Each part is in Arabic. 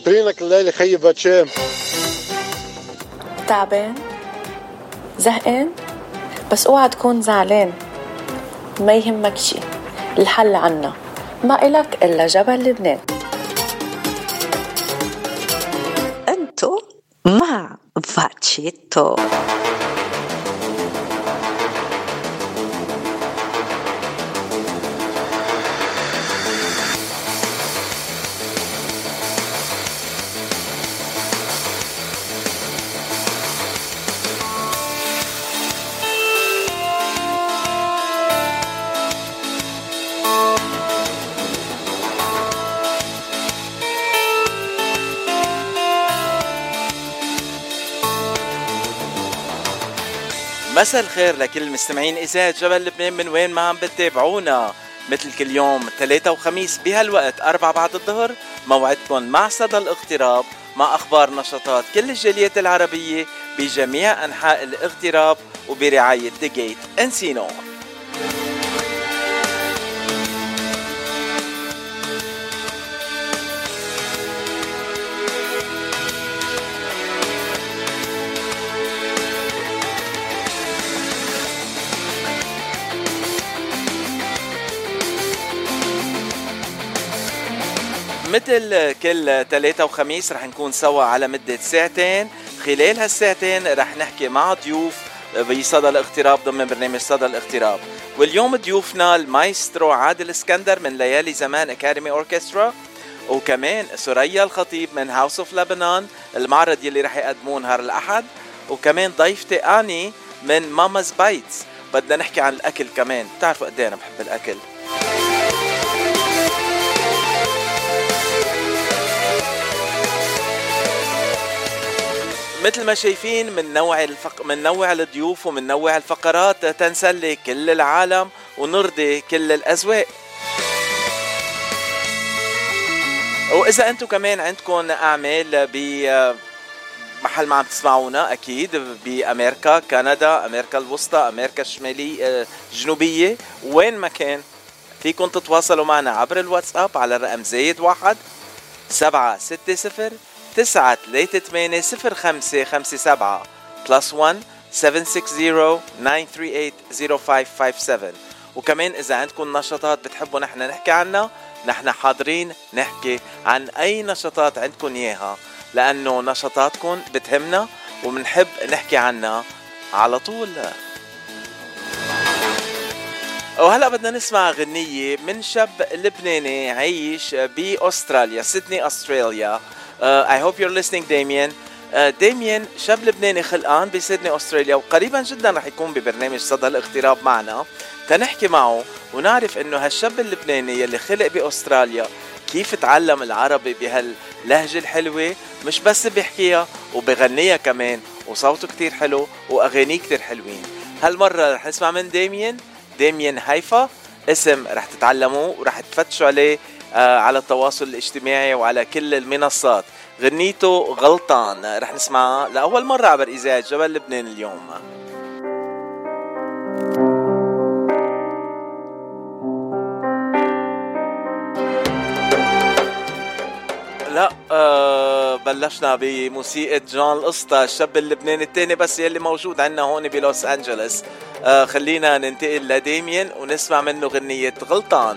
ناطرينك الليلة خيي باتشام. تعبان زهقان بس اوعى تكون زعلان، ما يهمك شي، الحل عنا، ما إلك إلا جبل لبنان. انتو مع فاتشيتو. مساء الخير لكل مستمعين إذاعة جبل لبنان من وين ما عم بتتابعونا. مثل كل يوم 3 وخميس بهالوقت 4 بعد الظهر موعدكم مع صدى الاغتراب، مع أخبار نشاطات كل الجاليات العربية بجميع أنحاء الاغتراب وبرعاية The Gate Encino. مثل كل 3 وخميس رح نكون سوا على مدة ساعتين. خلال هالساعتين رح نحكي مع ضيوف بصدى الاغتراب ضمن برنامج صدى الاغتراب. واليوم ضيوفنا المايسترو عادل اسكندر من ليالي زمان أكاديمي أوركسترا، وكمان سوريا الخطيب من هاوس اوف لبنان، المعرض يلي رح يقدموه نهار الأحد، وكمان ضيفتي آني من ماماز بايتس. بدنا نحكي عن الأكل كمان، بتعرفوا قد ايه أنا بحب الأكل. مثل ما شايفين من نوع الضيوف ومن نوع الفقرات تنسلي كل العالم ونرضي كل الأذواق. وإذا أنتم كمان عندكم أعمال بمحل ما عم تسمعونا، أكيد بأمريكا، كندا، أمريكا الوسطى، أمريكا الشمالية، الجنوبية، وين ما كان فيكم تتواصلوا معنا عبر الواتساب على الرقم +1 760 9380557 +1 760 938 0557. وكمان إذا عندكم نشاطات بتحبوا نحن نحكي عنها، نحن حاضرين نحكي عن أي نشاطات عندكم إياها، لأنه نشاطاتكم بتهمنا ومنحب نحكي عنها على طول. وهلأ بدنا نسمع غنية من شاب لبناني عايش بأستراليا، سيدني أستراليا. I hope you're listening Damien. ديميان شاب لبناني خلقان بسيدني أستراليا، وقريبا جدا رح يكون ببرنامج صدى الاغتراب معنا تنحكي معه ونعرف انه هالشاب اللبناني يلي خلق بأستراليا كيف تعلم العربي بهاللهجة الحلوة، مش بس بيحكيها وبغنيها كمان، وصوته كتير حلو وأغانيه كتير حلوين. هالمرة رح نسمع من ديميان هيفا، اسم رح تتعلموه ورح تفتشوا عليه على التواصل الاجتماعي وعلى كل المنصات. غنيته غلطان رح نسمعها لأول مرة عبر إذاعة جبل لبنان اليوم. لا بلشنا بموسيقى جون القسطى، الشاب اللبناني التاني بس يلي موجود عنا هون بلوس أنجلس. خلينا ننتقل لديميان ونسمع منه غنية غلطان.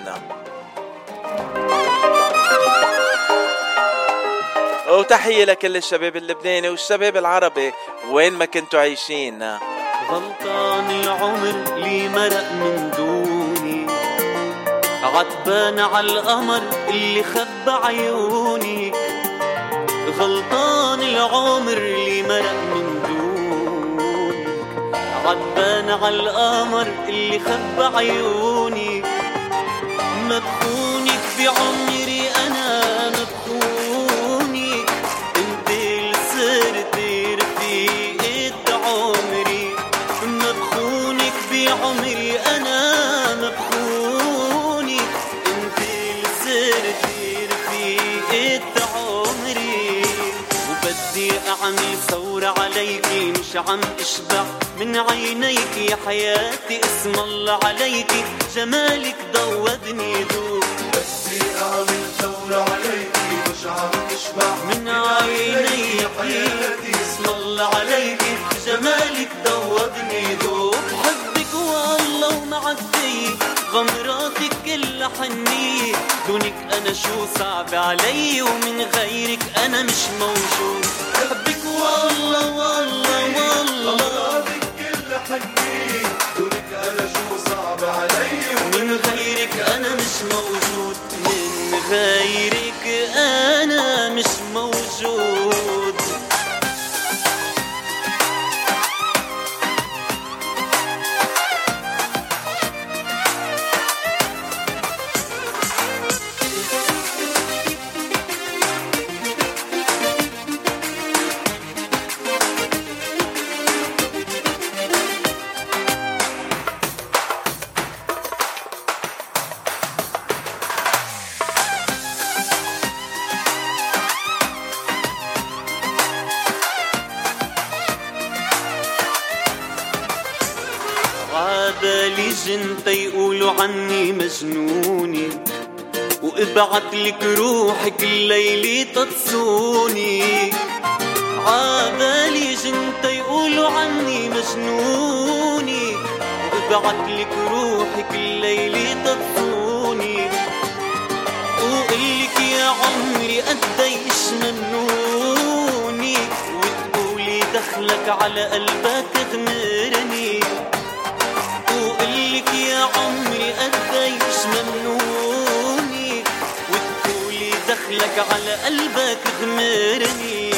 وتحية لكل الشباب اللبناني والشباب العربي وين ما كنتوا عايشين. غلطان العمر لي مرق من دوني، عتبان على القمر اللي خبى عيوني. غلطان العمر لي مرق من دوني، عتبان على القمر اللي خبى عيوني. مبخونك بعمري أنا مبخونك، انت اللي صرتي رفيقة عمري. مبخونك بعمري أنا مبخونك، انت اللي صرتي رفيقة عمري. وبدي أعمل ثورة عليكي، مش عم اشبع من عينيك يا حياتي، اسم الله عليكي جمالك ضودني دوب. بدي أعمل ثورة عليكي، مش من عينيكي اسم الله عليكي جمالك دوبني دوب حبك والله ومعدي غمراتك كلها حنية دونك أنا شو صعب علي ومن غيرك أنا مش موجود حبك والله والله والله غمراتك كلها حنية دونك أنا شو صعب علي ومن غيرك أنا مش موجود من غيرك أنا مش موجود عبالي جنت يقولوا عني مجنوني وابعت لك روحك الليلة تتصوني عبالي جنت يقولوا عني مجنوني وابعت لك روحك الليلة تتصوني وقلك يا عمري قديش ممنوني وتقولي دخلك على قلبك غمرني وقلك يا عمري قديش ممنوني وتقولي دخلك على قلبك غمرني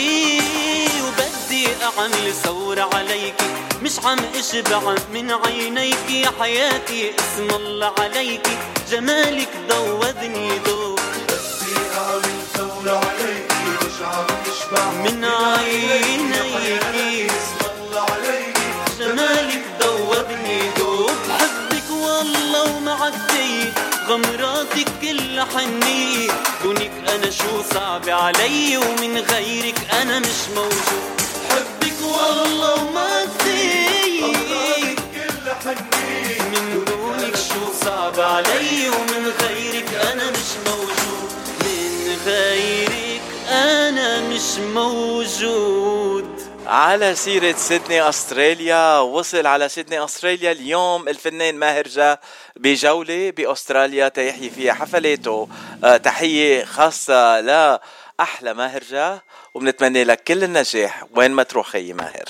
وبدي اعمل ثورة عليكي مش عم اشبع من عينيكي يا حياتي اسم الله عليكي جمالك دوبني دوب بدي اعمل ثورة عليكي مش عم اشبع من عينيكي اسم الله عليكي جمالك دوبني دوب حبك والله ومعدي غمراتك كلها حنية دونك أنا شو صعب علي ومن غيرك أنا مش موجود حبك والله ومعدي غمراتك كلها حنية من دونك شو صعب علي ومن غيرك أنا مش موجود من غيرك أنا مش موجود. على سيرة سيدني أستراليا، وصل على سيدني أستراليا اليوم الفنان ماهر جا بجولة بأستراليا تيحيي فيها حفلاته. تحية خاصة لأحلى ماهر جا وبنتمنى لك كل النجاح وين ما تروح خي ماهر.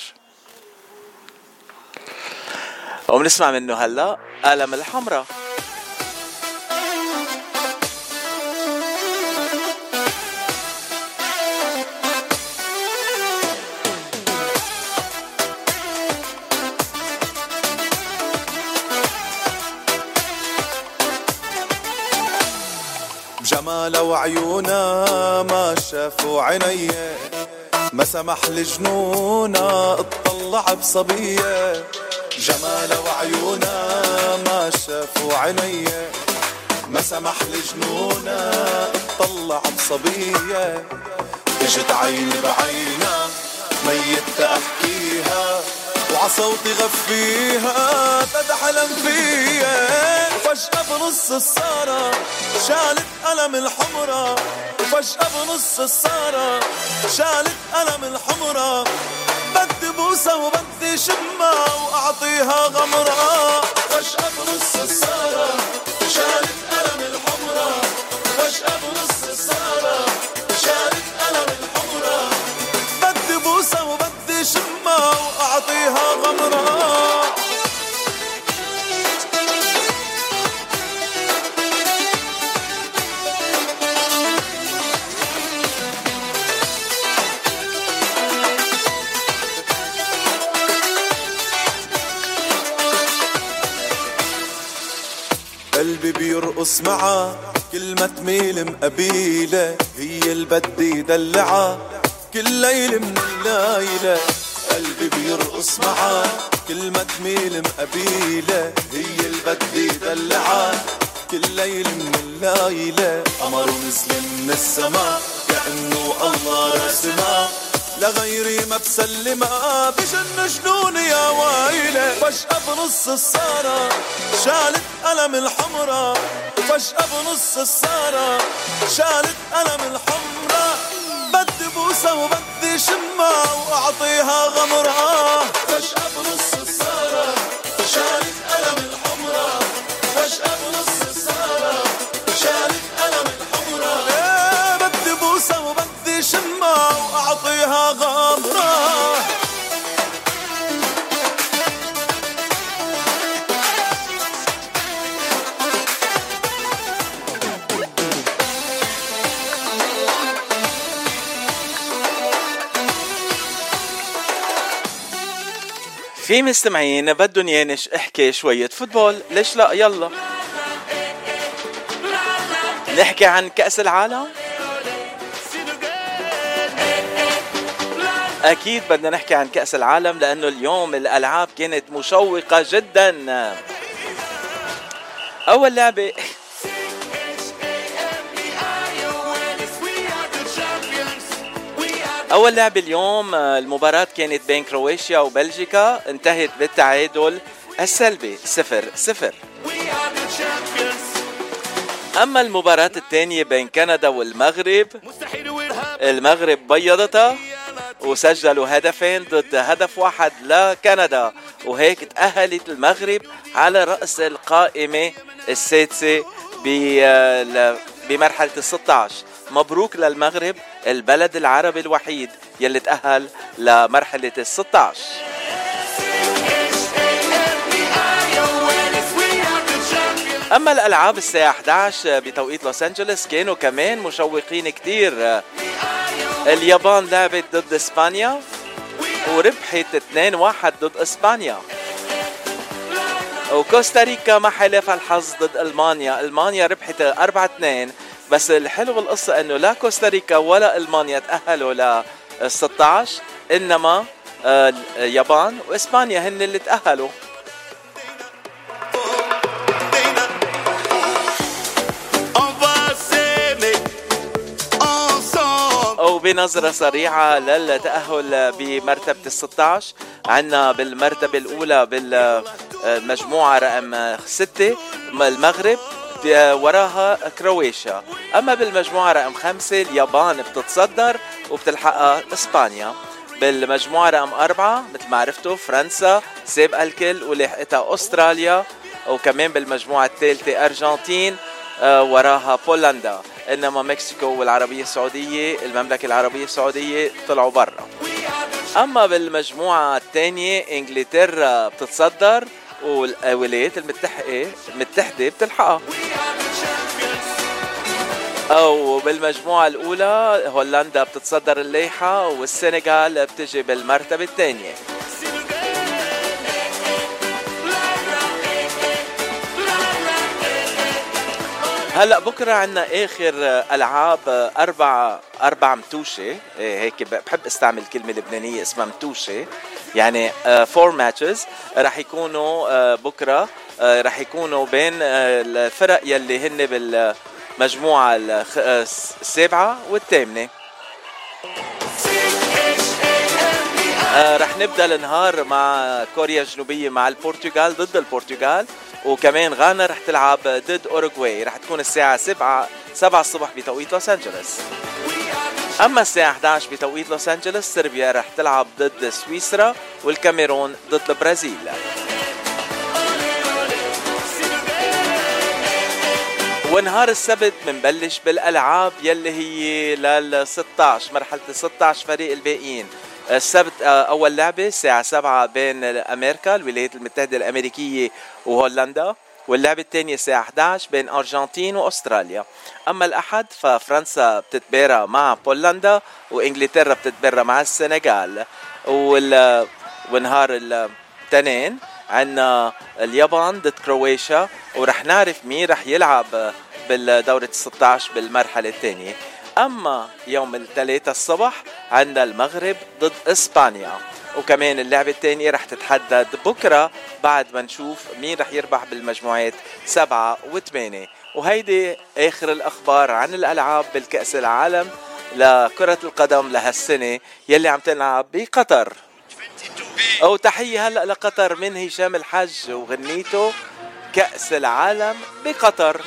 وبنسمع منه هلا قلم الحمراء. جمالها وعيونها ما شافوا عيني ما سمح لجنونها اطلع بصبية جمالها وعيونها ما شافوا عيني ما سمح لجنونها اطلع بصبية اجت عيني بعينها ميت احكيها وعصوتي غفيها تدحلم فيها وفجأة بنص السارة شالت قلم الحمرة وفجأة بنص السارة شالت قلم الحمرة بدي بوسة وبدي شمة وأعطيها غمرة فجأة بنص السارة شالت قلم الحمرة فجأة بنص السارة شالت قلم الحمرة بدي بوسة وبدي شمة وأعطيها غمرة. قلبي بيرقص معها كل ما تميل مقبيلة هي اللي بدي دلعها كل ليلة من الليلة. قلبي بيرقص معها كل ما تميل مقبيلة هي اللي بدي دلعها كل ليلة من الليلة. قمر نزل من السماء كأنه الله رسمها لغيري ما بسلمها بجن جنوني يا ويلة وفجأة بنص السارة شالت قلم الحمرة، وفجأة بنص السارة شالت قلم الحمرة. بدي بوسة وبدي شمة وأعطيها غمرة. فجأة بنص السارة شالت قلم الحمرة، فجأة بنص السارة شالت قلم الحمرة. بدي بوسة وبدي شمة وأعطيها غمرة. في مستمعين بدهم يانش احكي شوية فوتبول، ليش لا؟ يلا نحكي عن كأس العالم. أكيد بدنا نحكي عن كأس العالم لأنه اليوم الألعاب كانت مشوقة جدا. أول لعبة اليوم المباراة كانت بين كرواتيا وبلجيكا، انتهت بالتعادل السلبي 0-0. أما المباراة الثانية بين كندا والمغرب، المغرب بيضتها وسجلوا هدفين ضد هدف واحد لكندا، وهيك تأهلت المغرب على رأس القائمة السادسة بمرحلة 16. مبروك للمغرب، البلد العربي الوحيد يلي تأهل لمرحلة 16. أما الألعاب الساعة 11 بتوقيت لوس أنجلوس كانوا كمان مشوقين كتير. اليابان لعبت ضد إسبانيا وربحت 2-1 ضد إسبانيا. وكوستاريكا ما حلفها الحظ ضد ألمانيا ربحت 4-2. بس الحلو بالقصة انه لا كوستاريكا ولا ألمانيا تأهلوا ل 16، انما اليابان وإسبانيا هن اللي تأهلوا. أو بنظرة سريعة للتأهل بمرتبة 16، عنا بالمرتبة الأولى بالمجموعة رقم 6 المغرب، وراها كرواتيا. أما بالمجموعة رقم 5 اليابان بتتصدر وبتلحقها إسبانيا. بالمجموعة رقم 4 مثل ما عرفتوا فرنسا سابقة الكل ولحقتها أستراليا. وكمان بالمجموعة الثالثة أرجنتين وراها بولندا. إنما مكسيكو والعربية السعودية المملكة العربية السعودية طلعوا برا. أما بالمجموعة الثانية إنجلترا بتتصدر والولايات المتحدة بتلحقها. أو بالمجموعة الأولى هولندا بتتصدر اللائحة والسنغال بتجي بالمرتبة الثانية. هلأ بكرة عنا آخر ألعاب أربع متوشة، هيك بحب استعمل كلمة لبنانية اسمها متوشة، يعني 4 matches رح يكونوا بكرة، رح يكونوا بين الفرق يلي هن بالمجموعة 7 و8. رح نبدأ النهار مع كوريا الجنوبية مع البرتغال ضد البرتغال، وكمان غانا رح تلعب ضد أوروغواي. رح تكون الساعة 7 الصبح بتوقيت لوس أنجلوس. أما الساعة 11 بتوقيت لوس أنجلوس صربيا رح تلعب ضد سويسرا والكاميرون ضد البرازيل. ونهار السبت منبلش بالألعاب يلي هي لل16 مرحلة 16 فريق الباقيين. السبت أول لعبة الساعة 7 بين أمريكا الولايات المتحدة الأمريكية وهولندا، واللعبة الثانية الساعة 11 بين أرجنتين وأستراليا. أما الأحد ففرنسا بتتبارى مع بولندا وإنجلترا بتتبارى مع السنغال. ونهار الاثنين عنا اليابان ضد كرواتيا، ورح نعرف مين رح يلعب بالدورة 16 بالمرحلة الثانية. أما يوم الثلاثاء الصبح عندنا المغرب ضد إسبانيا، وكمان اللعبة الثانية رح تتحدد بكرة بعد ما نشوف مين رح يربح بالمجموعات 7 و8. وهيدي آخر الأخبار عن الألعاب بالكأس العالم لكرة القدم لهالسنة يلي عم تلعب بقطر. أو تحية هلأ لقطر من هشام الحج وغنيته كأس العالم بقطر.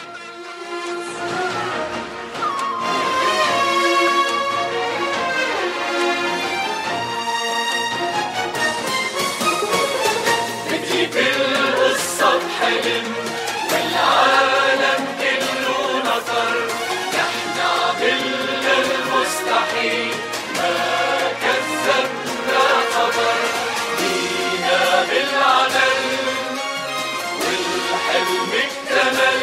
بتجيب القصة بحلم والعالم كله نطر، نحن عملنا المستحيل ما كذبنا خبر، جينا بالعمل والحلم اكتمل،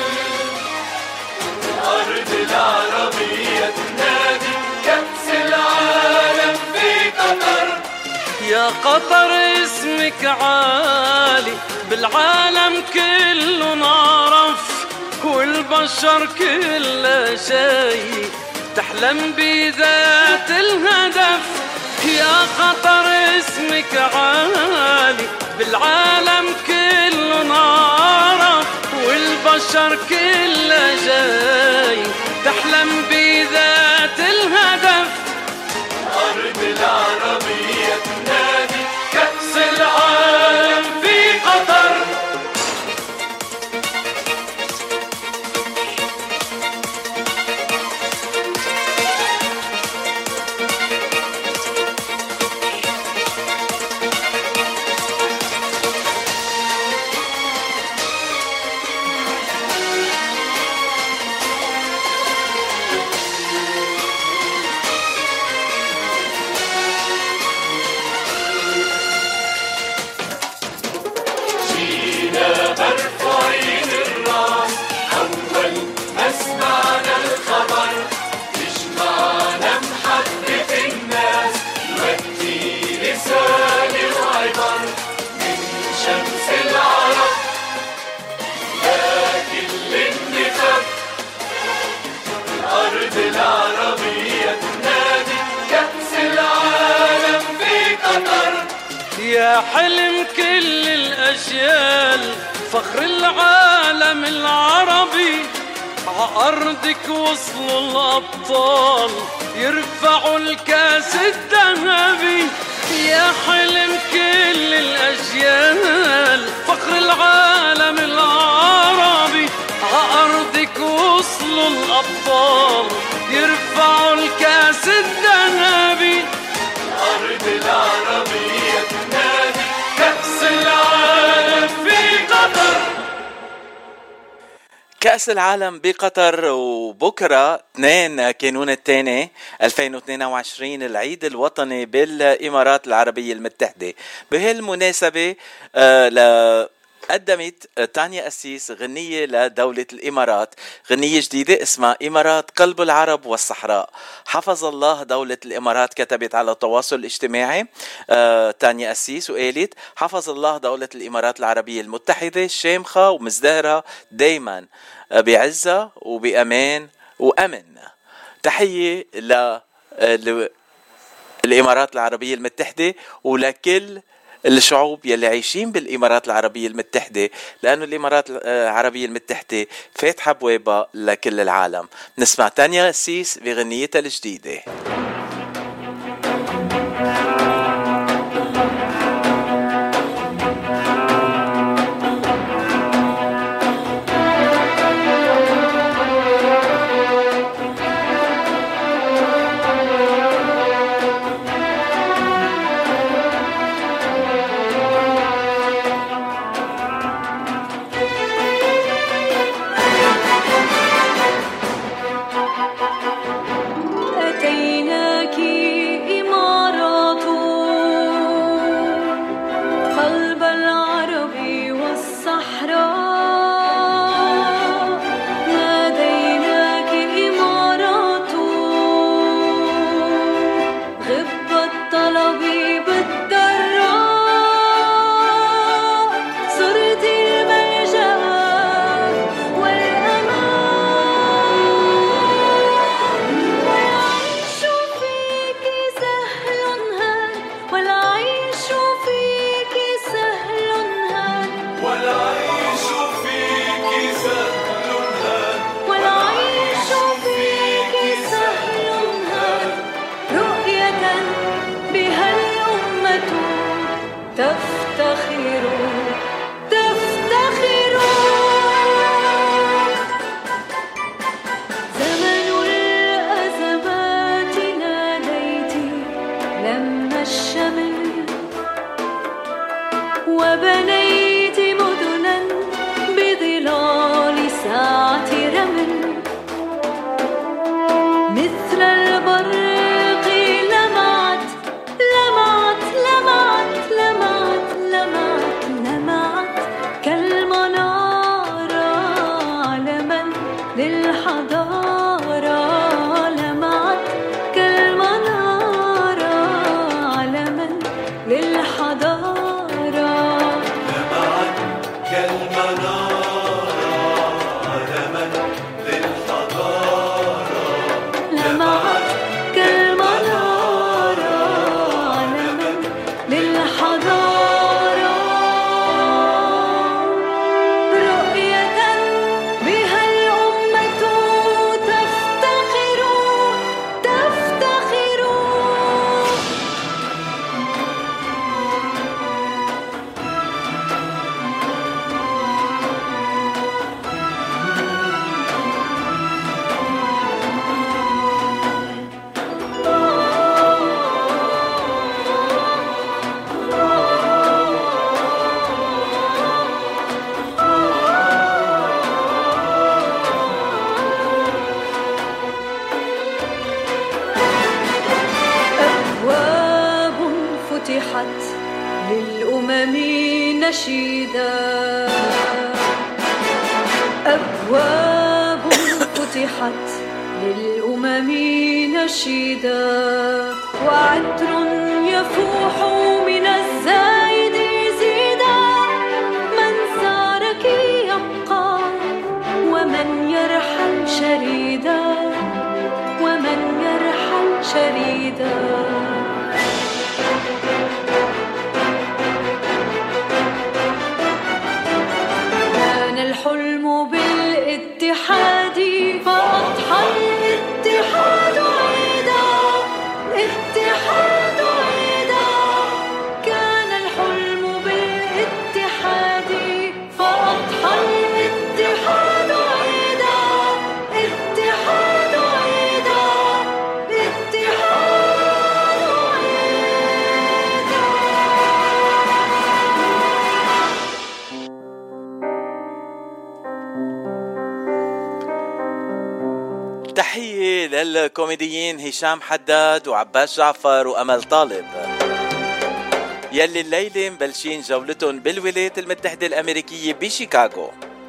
الأرض العربية تنادي كأس العالم في قطر. يا قطر اسمك عالي بالعالم كله نعرف، والبشر كله شايف تحلم بذات الهدف. يا قطر اسمك عالي بالعالم كله نعرف، والبشر كله شايف تحلم بذات الهدف. الأرض العربية تنادي كأس العالم في قطر. مرفوعين الراس أول ما سمعنا الخبر، تجمعنا محبة الناس نودي رسالة وعبر من شمس العرب لكل النخب. الأرض العربية تنادي كأس العالم في قطر. يا حلم كل الأجيال فخر العالم العربي، عأرضك وصلوا الأبطال يرفعوا الكاس الذهبي. يا حلم كل الأجيال فخر العالم العربي، عأرضك وصلوا الأبطال يرفعوا الكاس الذهبي. الأرض العربية تنادي كأس العالم في قطر. كأس العالم بقطر. وبكرة 2 كانون الثاني 2022 العيد الوطني بالإمارات العربية المتحدة. بهالمناسبة قدمت تانيا أسيس غنية لدولة الإمارات، غنية جديدة اسمها إمارات قلب العرب والصحراء. حفظ الله دولة الإمارات، كتبت على التواصل الاجتماعي تانيا أسيس وقالت: حفظ الله دولة الإمارات العربية المتحدة شامخة ومزدهرة دايما بعزة وبأمان وأمن. تحية للإمارات العربية المتحدة ولكل الشعوب يلي عايشين بالإمارات العربية المتحدة، لأنه الإمارات العربية المتحدة فاتحة بوابة لكل العالم. نسمع تانيا أسيس بغنيتها الجديدة. أتينا تفتخروا تفتخروا. زمن الأزمات ناديتي لما الشمل وبنيت مدنا بظلال ساعة رمل. مثل البرق لمعت لمعت لمعت لمعت لمعت لمعت كالمنارة علما للحضارة. لمعت كالمنارة علما للحضارة. لمعت كالمنارة علما للحضارة. لمعت كالمنارة علما للحضارة. رؤية بها الأمة تفتخر تفتخر. أبواب فتحت للأمم نشيدا. أبواب فتحت للأمم نشيدا. وعطر يفوح من الزايد زيدا. من سارك يبقى ومن يرحل شريدا. ومن يرحل شريدا. كان الحلم بالاتحاد فأضحى الاتحاد عيدا. اتحاد عيدا. كان الحلم بالاتحاد فأضحى الاتحاد عيدا. اتحاد عيدا. اتحاد عيدا. تحية للكوميديين هشام حداد وعباس جعفر وأمل طالب يلي الليلة مبلشين جولتهم بالولايات المتحدة الأمريكية بشيكاغو،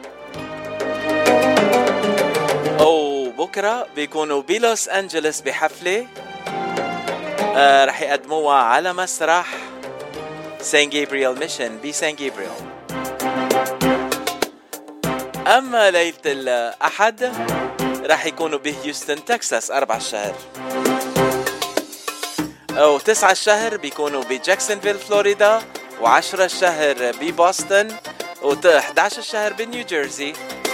وبكرة بيكونوا بلوس أنجلس بحفلة رح يقدموها على مسرح سان جابرييل ميشن بسان جابرييل. أما ليلة الأحد رح يكونوا بهيوستن تكساس 4 الشهر، و9 الشهر بيكونوا بجاكسونفيل فلوريدا، و10 الشهر ببوسطن، و11 الشهر بنيوجيرسي،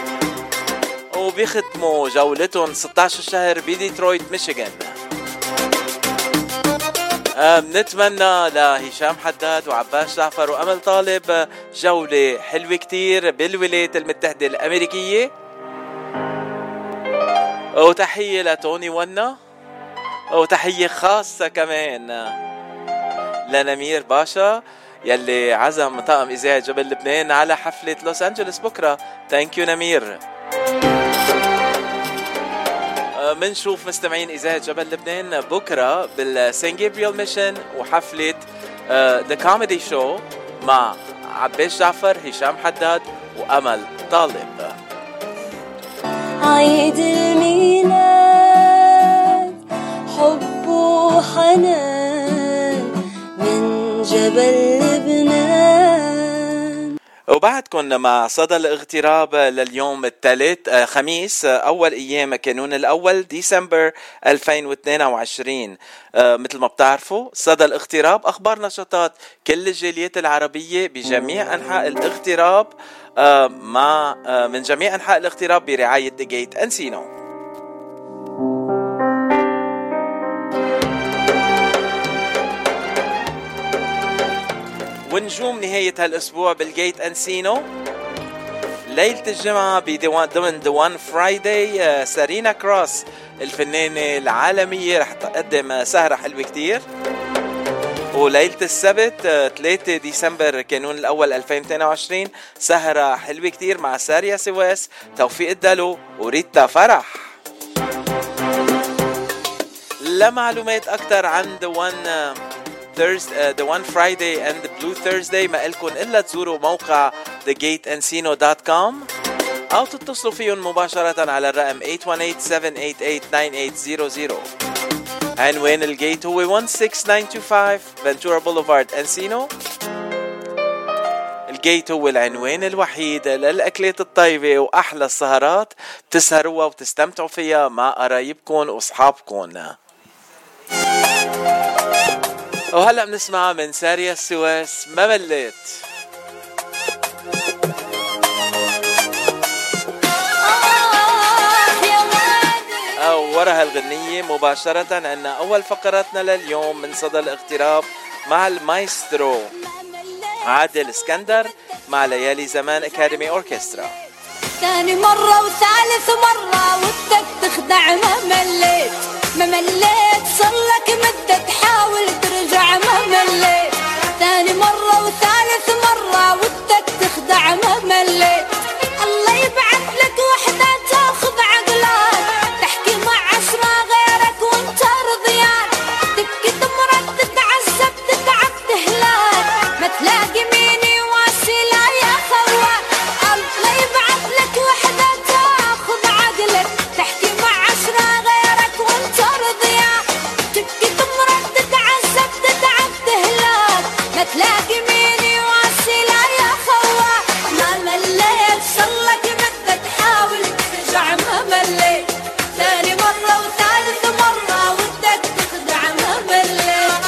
وبيختموا جولتهم 16 الشهر بديترويت ميشيغان. بنتمنى لهشام حداد وعباس جعفر وأمل طالب جولة حلوة كتير بالولايات المتحدة الأمريكية. وتحية لتوني ونا، وتحية خاصة كمان لنمير باشا يلي عزم طاقم إذاعة جبل لبنان على حفلة لوس أنجلس بكرة. ثانك يو نمير. منشوف مستمعين إذاعة جبل لبنان بكرة بالسان جابرييل ميشن وحفلة The Comedy Show مع عباس جعفر، هشام حداد وأمل طالب. عيد الميلاد حب وحنان من جبل لبنان. وبعدكم مع صدى الاغتراب لليوم الثالث خميس أول أيام كانون الأول ديسمبر 2022. مثل ما بتعرفوا صدى الاغتراب أخبار نشاطات كل الجاليات العربية بجميع أنحاء الاغتراب من جميع أنحاء الاغتراب برعاية ديجيت أنسينو. ونجوم نهاية هالأسبوع بالجيت أنسينو. ليلة الجمعة ضمن The One Friday سارينا كروس الفنانة العالمية رح تقدم سهرة حلوة كتير. وليلة السبت 3 ديسمبر كانون الأول 2022 سهرة حلوة كتير مع ساريا سواس، توفيق الدلو وريتا فرح. لمعلومات أكتر عن The One Friday and the Blue Thursday ما إلكن إلا تزوروا موقع thegateensino.com أو تتصلوا فيهم مباشرة على الرقم 818-788-9800. عنوان الجيت هو 16925 فنتورا بوليفارد أنسينو. الجيت هو العنوان الوحيد للأكلات الطيبة وأحلى السهرات بتسهروها وتستمتعوا فيها مع قرايبكم وأصحابكم. وهلأ بنسمع من ساريا السواس ما مليت. ورا هالغنية مباشرة عنا أول فقراتنا لليوم من صدى الاغتراب مع المايسترو عادل اسكندر مع ليالي زمان أكاديمي أوركسترا. ثاني مرة وثالث مرة ودك تخدع ما مليت صلك مدة تحاول ترجع ما مليت. ثاني مرة وثالث مرة ودك تخدع ما مليت. الله يبعث لك وحدة تاخذ عقلك تحكي مع 10 غيرك وانت رضيان. تبكي تمرض تتعذب تتعب تهلاك ما تلاقي مين يواسي لا يا خوان. الله يبعث لك وحدة تاخذ عقلك تحكي مع 10 غيرك وانت رضيان. تبكي تمرض تتعذب تتعب تهلاك ما تلاقي مين يواسي لا يا خوان. ما مليت صلك مدة تحاول ترجع ما مليت. ثاني مرة وثالث مرة ودك تخدع ما مليت.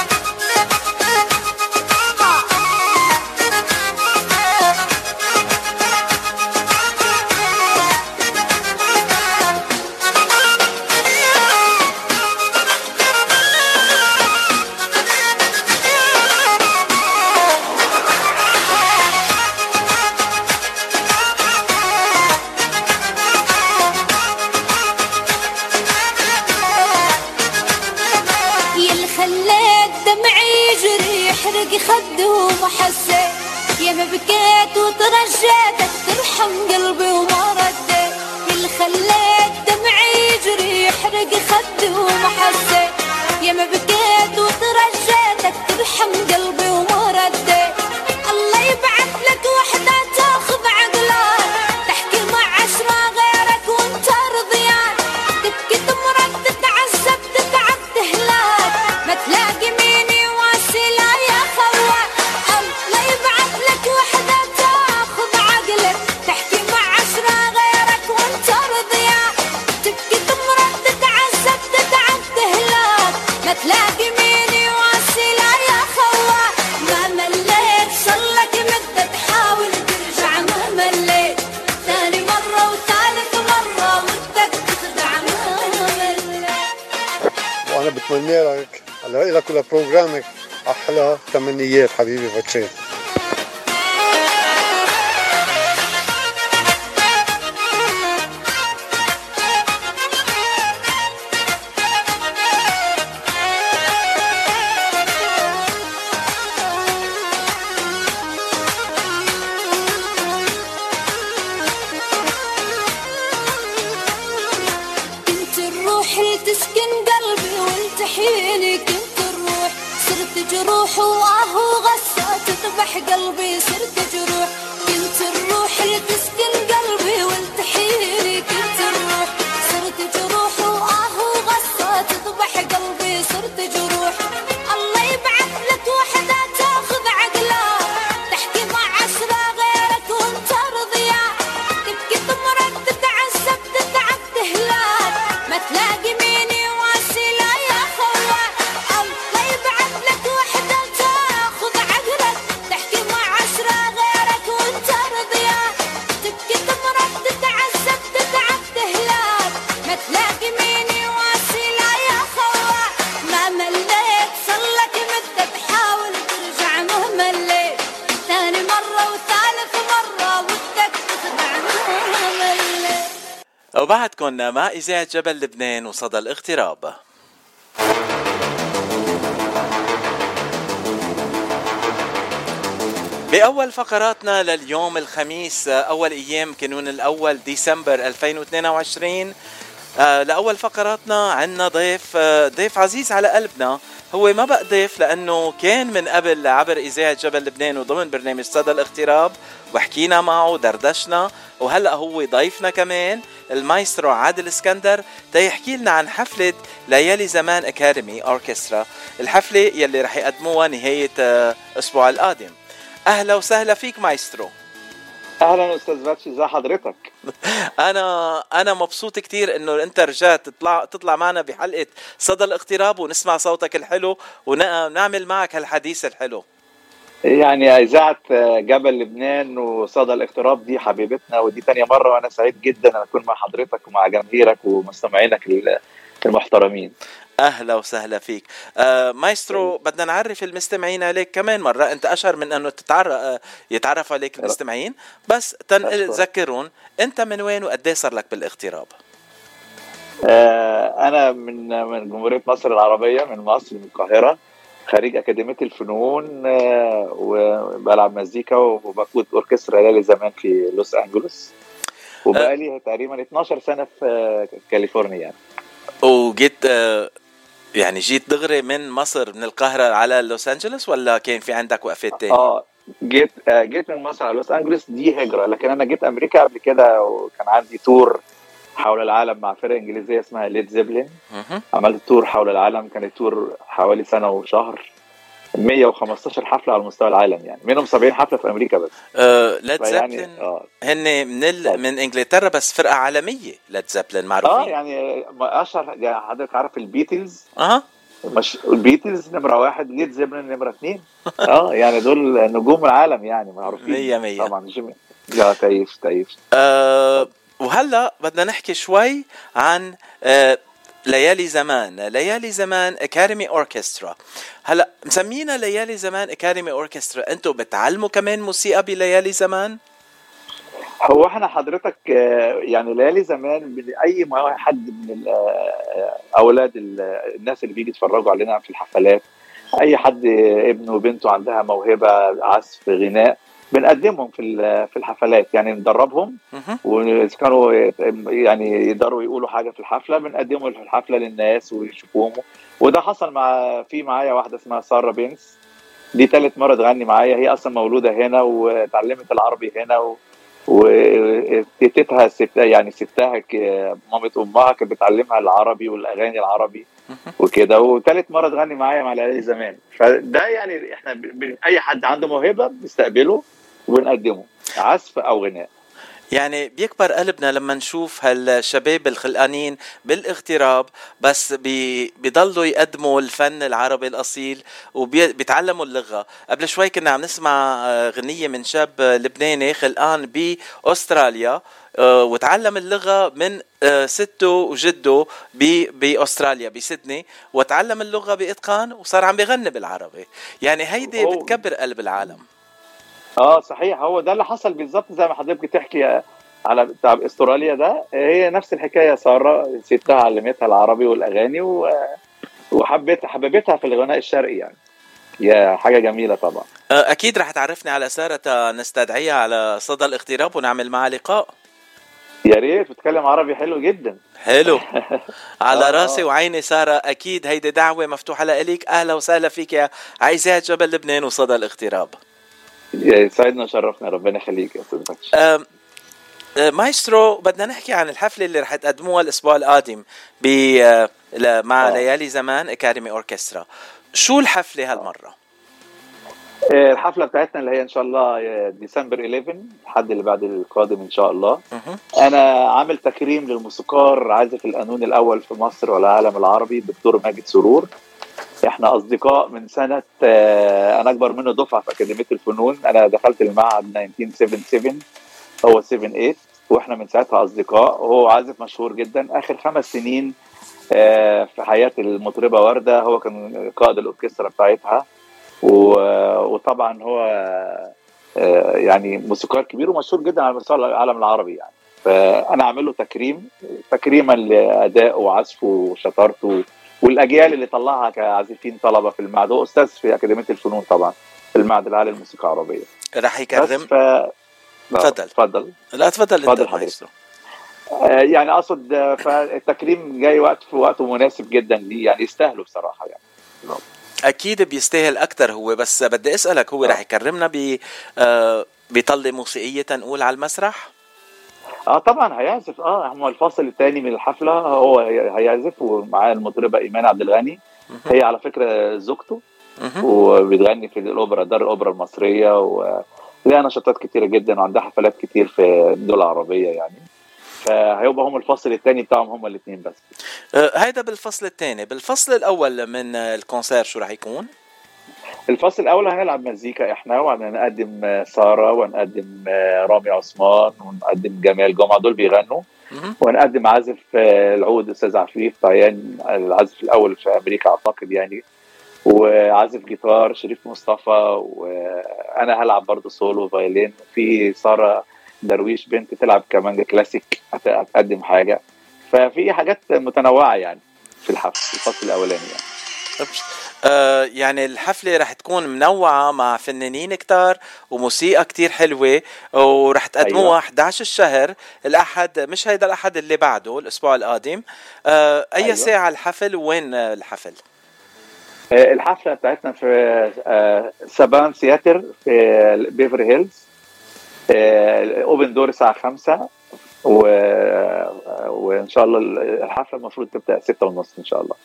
يحرق خده وما حسيت يا ما بكيت وترجيتك ترحم قلبي وما رديت. اللي خليت دمعي يجري يحرق خده وما حسيت يا ما بكيت وترجيتك ترحم قلبي وما رديت. الله يبعث لك وحدة تاخذ عقلك تحكي مع 10 غيرك وانت رضيان. تبكي تمرض تتعذب تتعب تهلاك ما تلاقي مين يواسي لا يا خوان. الله يبعث لك وحدة تاخذ عقلك تحكي مع 10 غيرك وانت رضيان. تبكي تمرض تتعذب تتعب تهلاك ما تلاقي مين يواسي لا يا خوان. ما مليت صلك مدة تحاول ترجع ما مليت. ثاني مرة وثالث مرة ودك تخدع ما مليت. وانا بتمنى لك على لك ولبروجرامك احلى تمنيات حبيبي باتشي. كنت الروح اللي تسكن قلبي والتحيني. كنت الروح صرت جروح وآهو غصة تذبح قلبي صرت جروح. كنت الروح اللي تسكن قلبي والتحيني. كنت الروح صرت جروح وآهو غصة تذبح قلبي صرت جروح. الله يبعث لك وحدة تاخذ عقلك تحكي مع 10 غيرك وانت رضيان. تبكي تمرض تتعذب تتعب تهلاك ما تلاقي مين يواسي لا يا خوان. الله يبعث لك وحدة تاخذ عقلك تحكي مع 10 غيرك وانت وبعدكن مع إذاعة جبل لبنان وصدى الاغتراب. بأول فقراتنا لليوم الخميس، أول أيام كانون الأول ديسمبر 2022. لأول فقراتنا عنا ضيف عزيز على قلبنا. هو ما بقى ضيف لأنه كان من قبل عبر إذاعة جبل لبنان وضمن برنامج صدى الاغتراب، وحكينا معه ودردشنا، وهلأ هو ضيفنا كمان المايسترو عادل اسكندر تيحكي لنا عن حفلة ليالي زمان أكاديمي أوركسترا، الحفلة يلي رح يقدموها نهاية أسبوع القادم. أهلا وسهلا فيك مايسترو. اهلا استاذ باتشي، ازي حضرتك؟ انا مبسوط كتير انه انت رجعت تطلع معنا بحلقة صدى الاغتراب ونسمع صوتك الحلو ونعمل معك هالحديث الحلو. يعني اذاعه جبل لبنان وصدى الاغتراب دي حبيبتنا، ودي تانية مرة وانا سعيد جدا ان اكون مع حضرتك ومع جماهيرك ومستمعينك المحترمين. اهلا وسهلا فيك. مايسترو، بدنا نعرف المستمعين عليك كمان مرة، انت اشهر من انه يتعرف عليك المستمعين، بس تذكرون انت من وين وقد ايه صار لك بالاغتراب؟ انا من جمهورية مصر العربية، من مصر، من القاهرة، خريج أكاديمية الفنون، وبلعب مزيكا وبقود أوركسترا ليالي زمان في لوس أنجلوس، وبقالي تقريبا 12 سنة في كاليفورنيا يعني. وجيت يعني جيت دغري من مصر من القاهرة على لوس أنجلوس ولا كان في عندك وقفات تاني؟ جيت من مصر على لوس أنجلوس، دي هجرة، لكن أنا جيت أمريكا قبل كده وكان عندي تور حول العالم مع فرقة إنجليزية اسمها ليد زيبلين. عملت تور حول العالم، كان التور حوالي سنة وشهر، 115 حفلة على مستوى العالم يعني، منهم 70 حفلة في أمريكا بس. ليد زيبلين هن من إنجلترا بس فرقة عالمية. ليد زيبلين معروفين يعني أشهر، يعني حضرتك عارف البيتلز؟ مش البيتلز نمرة 1، ليد زيبلين نمرة 2. يعني دول نجوم العالم يعني، معروفين 100 طبعا. لا تعيش. وهلا بدنا نحكي شوي عن ليالي زمان أكاديمي أوركسترا. هلا مسمينا ليالي زمان أكاديمي أوركسترا، أنتوا بتعلموا كمان موسيقى بليالي زمان؟ هو احنا حضرتك يعني ليالي زمان اي حد من اولاد الناس اللي بيجي يتفرجوا علينا في الحفلات، اي حد ابنه وبنته عندها موهبة عزف غناء، بنقدمهم في الحفلات، يعني ندربهم، وإذا كانوا يعني يقدروا يقولوا حاجة في الحفلة بنقدمهم في الحفلة للناس ويشوفوهم. وده حصل معايا واحدة اسمها سارة بينس، دي 3 مرة تغني معايا، هي أصلا مولودة هنا وتعلمت العربي هنا، وتيتها يعني ستها مامة أمها كانت بتعلمها العربي والأغاني العربي وكده، و3 مرة تغني معايا مع ليالي زمان. فده يعني احنا أي حد عنده موهبة بنستقبله وبنقدمه عزف أو غناء. يعني بيكبر قلبنا لما نشوف هالشباب الخلقانين بالاغتراب بس بيضلوا يقدموا الفن العربي الأصيل وبيتعلموا اللغة. قبل شوي كنا عم نسمع غنية من شاب لبناني خلقان بأستراليا، وتعلم اللغة من سته وجده بأستراليا بسيدني، وتعلم اللغة بإتقان وصار عم بيغني بالعربي. يعني هيدي بتكبر قلب العالم. صحيح، هو ده اللي حصل بالظبط زي ما حضرتك بتحكي على بتاع استراليا ده، هي نفس الحكايه. ساره ستها علمتها العربي والاغاني وحببتها في الغناء الشرقي، يعني هي حاجه جميله طبعا. اكيد رح تعرفني على ساره، نستدعيها على صدى الاغتراب ونعمل معها لقاء. يا ريت، بتتكلم عربي حلو جدا. حلو. على راسي وعيني ساره، اكيد هيدي دعوه مفتوحه لك. اهلا وسهلا فيك يا عايزات جبل لبنان وصدى الاغتراب. سعدنا وشرفنا، ربنا يخليك يا استاذ باتشي. مايسترو، بدنا نحكي عن الحفله اللي رح تقدموها الاسبوع القادم مع ليالي زمان أكاديمي أوركسترا. شو الحفله هالمره؟ الحفله بتاعتنا اللي هي ان شاء الله ديسمبر 11، الحد اللي بعد القادم ان شاء الله. انا عامل تكريم للموسيقار عازف القانون الاول في مصر والعالم العربي الدكتور ماجد سرور. احنا اصدقاء من سنه، انا اكبر منه دفعه في اكاديميه الفنون، انا دخلت المعهد 1977 هو 78، واحنا من ساعتها اصدقاء. وهو عازف مشهور جدا، اخر 5 سنين في حياه المطربه ورده هو كان قائد الاوركسترا بتاعتها، وطبعا هو يعني موسيقار كبير ومشهور جدا على مستوى العالم العربي يعني. فانا اعمل له تكريما لادائه وعزفه وشطارته والاجيال اللي طلعها كعازفين طلبه في المعهد. هو استاذ في اكاديميه الفنون طبعا في المعهد العالي للموسيقى العربيه. رح يكرم. تفضل. لا تفضل انت مايسترو. يعني اقصد فالتكريم جاي في وقته مناسب جدا ليه، يعني يستاهله بصراحه يعني. اكيد بيستاهل اكتر هو، بس بدي اسالك هو رح يكرمنا بطلة موسيقيه نقول على المسرح؟ طبعا هيعزف. هو الفصل الثاني من الحفله هو هيعزف ومعاه المطربه ايمان عبد الغني. هي على فكره زوجته وبتغني في الاوبرا، دار الاوبرا المصريه، ولها نشاطات كتيره جدا وعندها حفلات كتير في الدول العربيه يعني. فهيبقى هم الفصل الثاني بتاعهم هم الاثنين بس. هيدا بالفصل الثاني. بالفصل الاول من الكونسير شو راح يكون؟ الفصل الاول هنلعب مزيكا احنا، وهنقدم ساره ونقدم رامي عثمان ونقدم جمال جمعه، دول بيغنوا. ونقدم عازف العود استاذ عفيف طيان، العازف الاول في امريكا اعتقد يعني، وعازف جيتار شريف مصطفى، وانا هلعب برضه سولو فايلين. في ساره درويش بنت تلعب كمانجا كلاسيك هتقدم حاجه. ففي حاجات متنوعه يعني في الفصل الاولاني يعني. يعني الحفلة رح تكون منوعة مع فنانين كتار وموسيقى كتير حلوة، ورح تقدموها. أيوة. 11 الشهر الأحد، مش هيدا الأحد اللي بعده، الأسبوع القادم. أي أيوة. ساعة الحفل وين الحفل؟ الحفلة بتاعتنا في سابان سياتر في بيفري هيلز. اوبن دور الساعة 5 وإن شاء الله الحفلة المفروض تبدأ 6:30 إن شاء الله.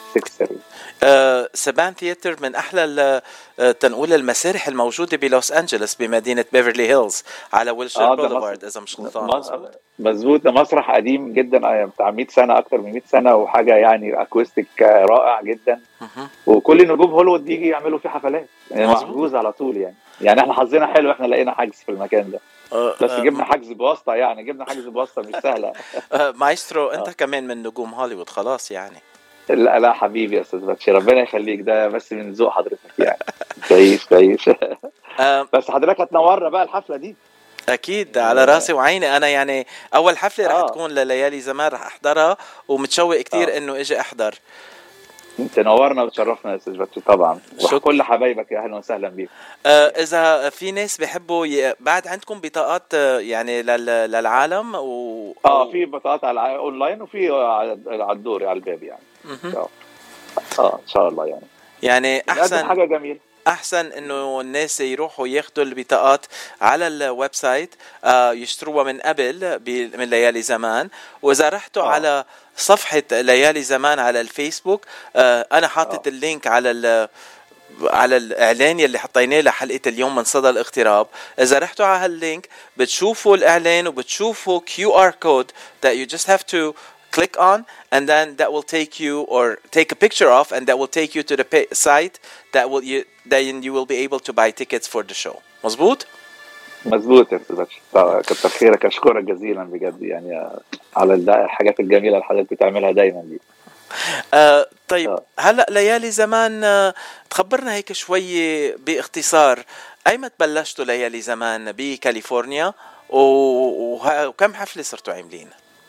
سابان ثياتر من أحلى تنقول المسارح الموجودة بلوس أنجلوس بمدينة بيفرلي هيلز على ويلشير بوليفارد إذا مش غلطان. مظبوط. ده مسرح قديم جدا بتاع 100 سنة، أكتر من 100 سنة، وحاجة يعني أكوستيك رائع جدا. وكل نجوم هوليوود بيجي يعملوا فيه حفلات يعني، محجوز على طول يعني احنا حظنا حلو، احنا لقينا حجز في المكان ده. بس جبنا حجز بواسطة يعني، جبنا حجز بواسطة مش سهلة. مايسترو أنت كمان من نجوم هوليوود خلاص يعني. لا حبيبي يا استاذ باتشي، ربنا يخليك، ده بس من ذوق حضرتك يعني. تعيش. بس حضرتك هتنورنا بقى الحفله دي. اكيد على راسي وعيني. انا يعني اول حفله رح تكون لليالي زمان، رح احضرها ومتشوق كتير انه اجي احضر. تنورنا وتشرفنا يا استاذ باتشي طبعا، وكل حبايبك يا اهلا وسهلا بيك. اذا في ناس بيحبوا بعد عندكم بطاقات يعني للعالم في بطاقات على اونلاين وفي على الدور على الباب يعني. ان شاء الله يعني احسن حاجه جميله. احسن انه الناس يروحوا ياخذوا البطاقات على الويب سايت، يشتروها من قبل من ليالي زمان. واذا رحتوا على صفحه ليالي زمان على الفيسبوك، انا حاطط اللينك على الاعلان يلي حطيناه لحلقه اليوم من صدى الاغتراب. اذا رحتوا على هاللينك بتشوفوا الاعلان وبتشوفوا QR code that you just have to click on, and then that will take you, or take a picture of, and that will take you to the site that then you will be able to buy tickets for the show. مظبوط يا استاذ، كتر خيرك، اشكرك جزيلا بجد يعني على الحاجات الجميله اللي حضرتك بتعملها دايما دي. طيب هلا ليالي زمان، تخبرنا هيك شوي باختصار ايمت بلشتوا ليالي زمان بكاليفورنيا وكم حفله صرتوا عاملين؟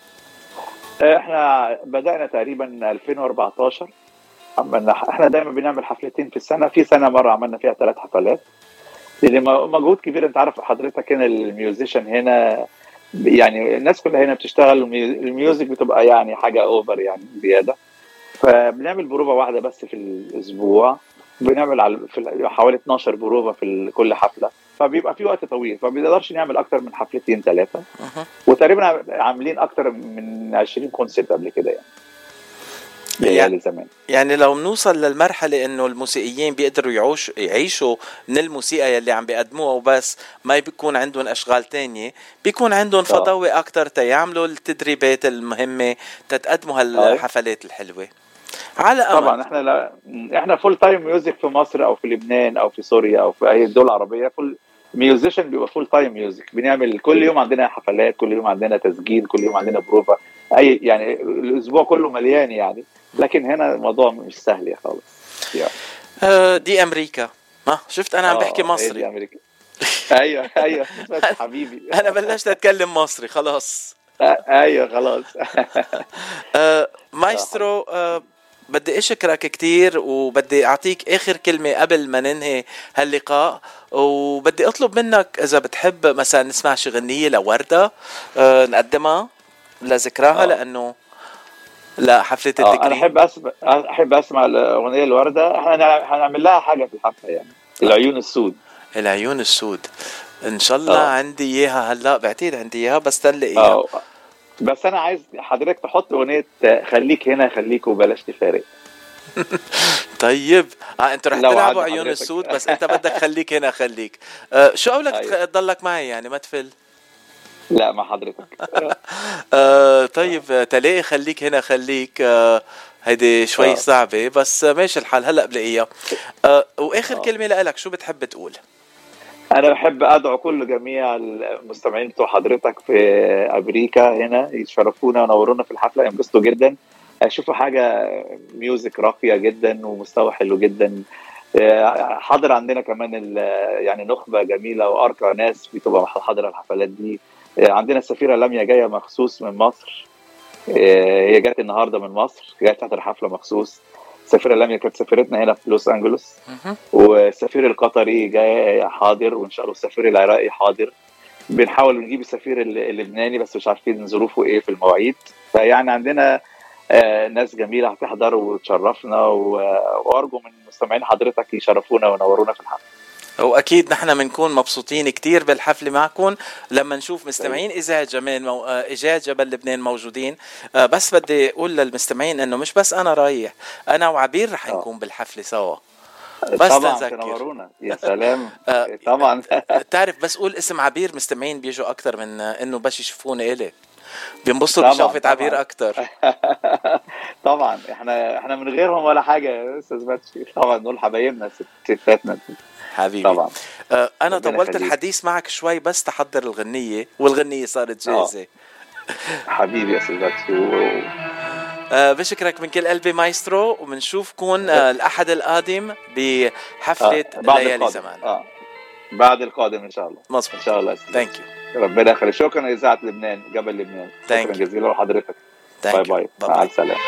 احنا بدأنا تقريبا 2014. احنا دايما بنعمل حفلتين في السنة، في سنة مرة عملنا فيها 3 حفلات، لان مجهود كبير. انت عارف حضرتك هنا الميوزيشن هنا يعني الناس كلها هنا بتشتغل، الميوزك بتبقى يعني حاجة اوفر يعني زيادة. فبنعمل بروفة واحدة بس في الاسبوع، بنعمل في حوالي 12 بروفة في كل حفلة، فبيبقى في وقت طويل، فبنقدرش نعمل اكتر من حفلتين 3. وتقريبا عاملين اكتر من 20 كونسرت قبل كده يعني زمان. يعني لو بنوصل للمرحله انه الموسيقيين بيقدروا يعيشوا من الموسيقى اللي عم بيقدموها وبس، ما بيكون عندهم اشغال تانية، بيكون عندهم فضاوي اكتر تيعملوا التدريبات المهمه تتقدموا هالحفلات الحلوه على أمل. طبعا احنا فول تايم ميوزك في مصر او في لبنان او في سوريا او في اي الدول العربيه، فول ميوزيشن بيبقى فول تايم ميوزك، بنعمل كل يوم عندنا حفلات، كل يوم عندنا تسجيل، كل يوم عندنا بروفا، اي يعني الاسبوع كله مليان يعني. لكن هنا الموضوع مش سهل يا خالص يعني. دي امريكا. شفت انا عم بحكي مصري. دي امريكا. ايوه حبيبي. انا بلشت اتكلم مصري خلاص. ايوه خلاص. مايسترو، بدي اشكرك كتير، وبدي اعطيك اخر كلمة قبل ما ننهي هاللقاء، وبدي اطلب منك اذا بتحب مثلا نسمع شي غنية لوردة نقدمها لذكراها، لانه لا حفلة التكريم. انا احب اسمع الاغنية الوردة. احنا هنعمل لها حاجة في الحفلة يعني، العيون السود. العيون السود ان شاء الله. عندي اياها هلا، بعتقد عندي اياها بس تلاقيها. بس انا عايز حضرتك تحط اغنيه خليك هنا خليك وبلاش تفارق. طيب انتوا رح تلعبوا عيون السود، بس انت بدك خليك هنا خليك. شو قولك تضلك معي يعني ما تفل؟ لا مع حضرتك. طيب تلاقي خليك هنا خليك. هيدي شوي صعبة بس ماشي الحال، هلا بلاقيها. واخر كلمة لك شو بتحب تقول؟ أنا بحب أدعو كل جميع المستمعين بتوع حضرتك في أمريكا هنا يشرفونا ونورونا في الحفلة، ينبسطوا جدا، يشوفوا حاجة ميوزك راقية جدا ومستوى حلو جدا. حاضر عندنا كمان يعني نخبة جميلة وأرقى ناس بتبقى حاضرة الحفلات دي. عندنا السفيرة لميا جاية مخصوص من مصر، هي جات النهاردة من مصر، جات تحضر حفلة مخصوص. السفيرة لميا كانت سفيرتنا هنا في لوس أنجلوس، والسفير القطري جاي حاضر، وإن شاء الله السفير العراقي حاضر. بنحاول نجيب السفير اللبناني بس مش عارفين ظروفه إيه في المواعيد. فيعني عندنا ناس جميلة هتحضر وتشرفنا، وأرجو من مستمعين حضرتك يشرفونا ونورونا في الحفلة. واكيد نحن بنكون مبسوطين كتير بالحفله معكم لما نشوف مستمعين اذاعه جبل لبنان موجودين. بس بدي اقول للمستمعين انه مش بس انا رايح، انا وعبير رح نكون بالحفله سوا. بس طبعا تنورونا. يا سلام. طبعا تعرف بس قول اسم عبير مستمعين بيجوا اكتر من انه بس يشوفوني إلي، بينبسطوا بشوفة عبير اكتر. طبعا احنا من غيرهم ولا حاجه يا استاذ باتشي. طبعا دول حبايبنا ستاتنا حبيبي. طبعا انا طولت الحديث معك شوي بس تحضر الغنية، والغنية صارت جاهزة. حبيبي يا استاذ باتشي. بشكرك من كل قلبي مايسترو، وبنشوفكم الأحد القادم بحفلة ليالي زمان. بعد القادم إن شاء الله. مظبوط إن شاء الله. ثانك يو. ربنا يخليك. شكرا إذاعة لبنان جبل لبنان. شكرا جزيلا لحضرتك. باي باي. مع السلامة.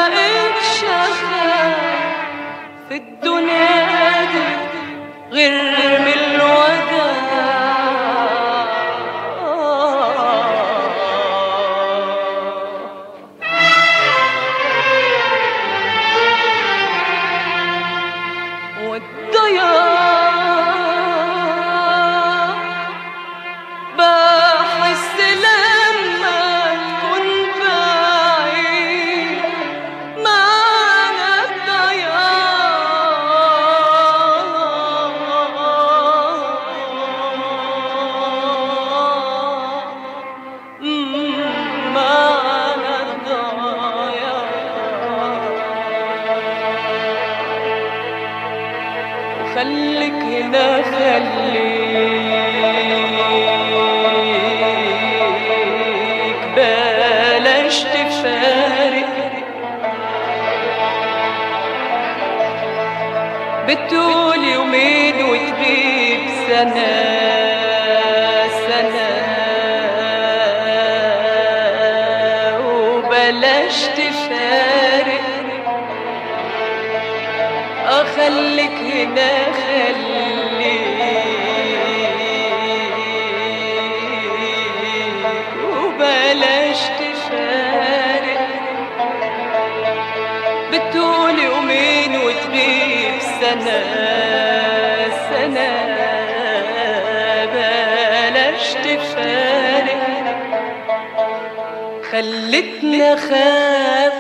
لقيتش أخاف في الدنيا دي غير من الوداع. خليك هنا خليك بلاش تفارق، بتقول يومين وتغيب سنة سنة، وبلاش تفارق. خليك هنا خليك وبلاش تفارق، بتقول يومين وتغيب سنة سنة، بلاش تفارق. خلتني أخاف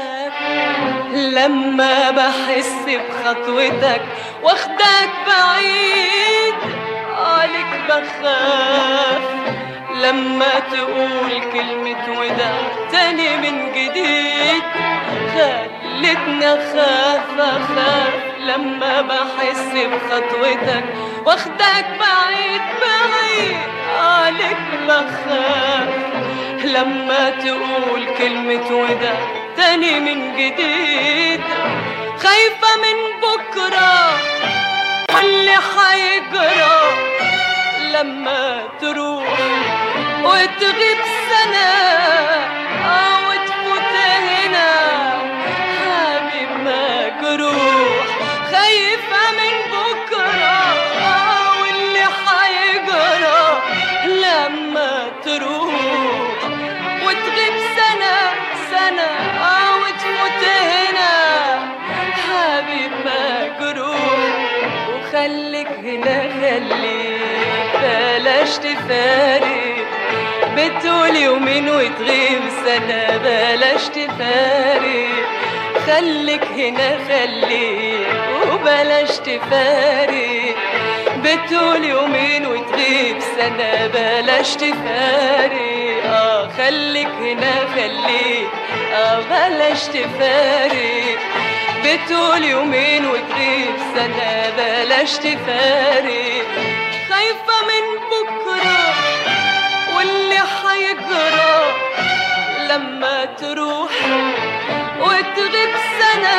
لما بحس بخطوتك واخدك بعيد، عليك بخاف لما تقول كلمة وداع تاني من جديد. خلتني أخاف لما بحس بخطوتك واخدك بعيد بعيد، عليك بخاف لما تقول كلمة وداع تاني من جديد. خايفة من بكرة واللي حيجرى لما تروح وتغيب سنة وتفوت هنا حبيب مجروح. خايفة من بكرة واللي حيجرى لما تروح وتغيب سنة سنة وتفوت هنا حبيب مجروح. وخليك هنا خليك بلاش تفارق، بتقول يومين وتغيب سنة بلاش تفارق. خليك هنا خليك وبلاش تفارق، بتقول يومين وتغيب سنة بلاش تفارق. خليك هنا خليك بلاش تفارق، بتقول يومين وتغيب سنة بلاش تفارق. خايفة من بكرة واللي حيجرى لما تروح وتغيب سنة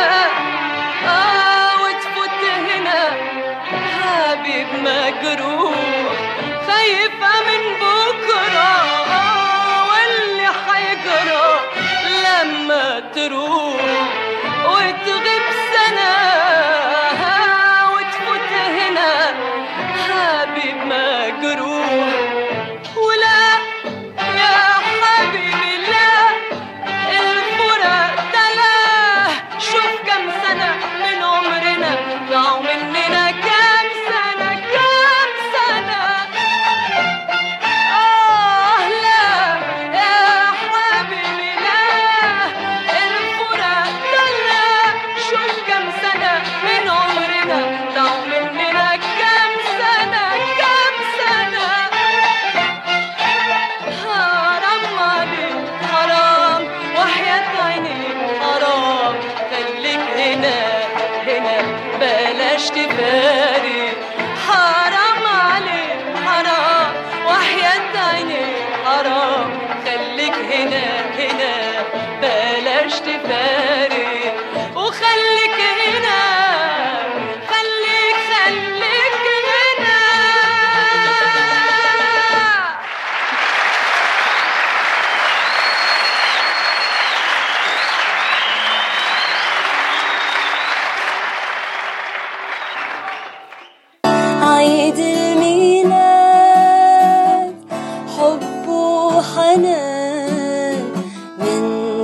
وتفوت هنا حبيب مجروح. خايفة من بكرة واللي حيجرى لما تروح وتغيب سنة وتفوت هنا حبيب مجروح. ولا يا حبيبي لا، الفراق ده لا، شوف كم سنة من عمرنا ضاعوا مننا، كم سنة كم سنة.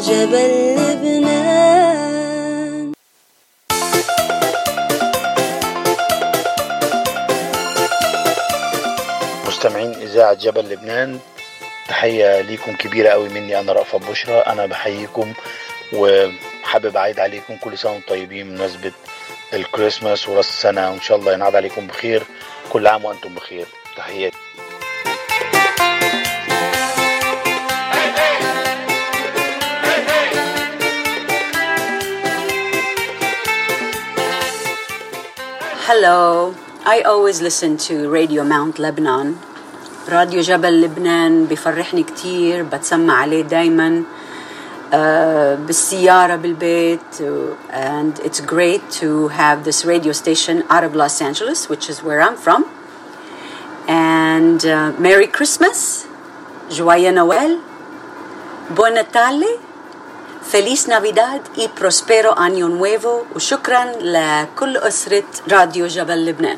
جبل لبنان. مستمعين إذاعة جبل لبنان، تحية ليكم كبيرة قوي مني. أنا رأفت بشرى، أنا بحييكم وحابب أعيد عليكم كل سنة وانتم طيبين بمناسبة الكريسماس وراس السنة، وإن شاء الله ينعاد عليكم بخير. كل عام وأنتم بخير. تحياتي. Hello, I always listen to Radio Mount Lebanon. راديو جبل لبنان بيفرحني كتير، بتسمع عليه دايما بالسيارة بالبيت. And it's great to have this radio station out of Los Angeles, which is where I'm from. And Merry Christmas, Joyeux Noël, Buon Natale, Feliz Navidad y Prospero Año Nuevo. وشكرا لكل أسرة راديو جبل لبنان.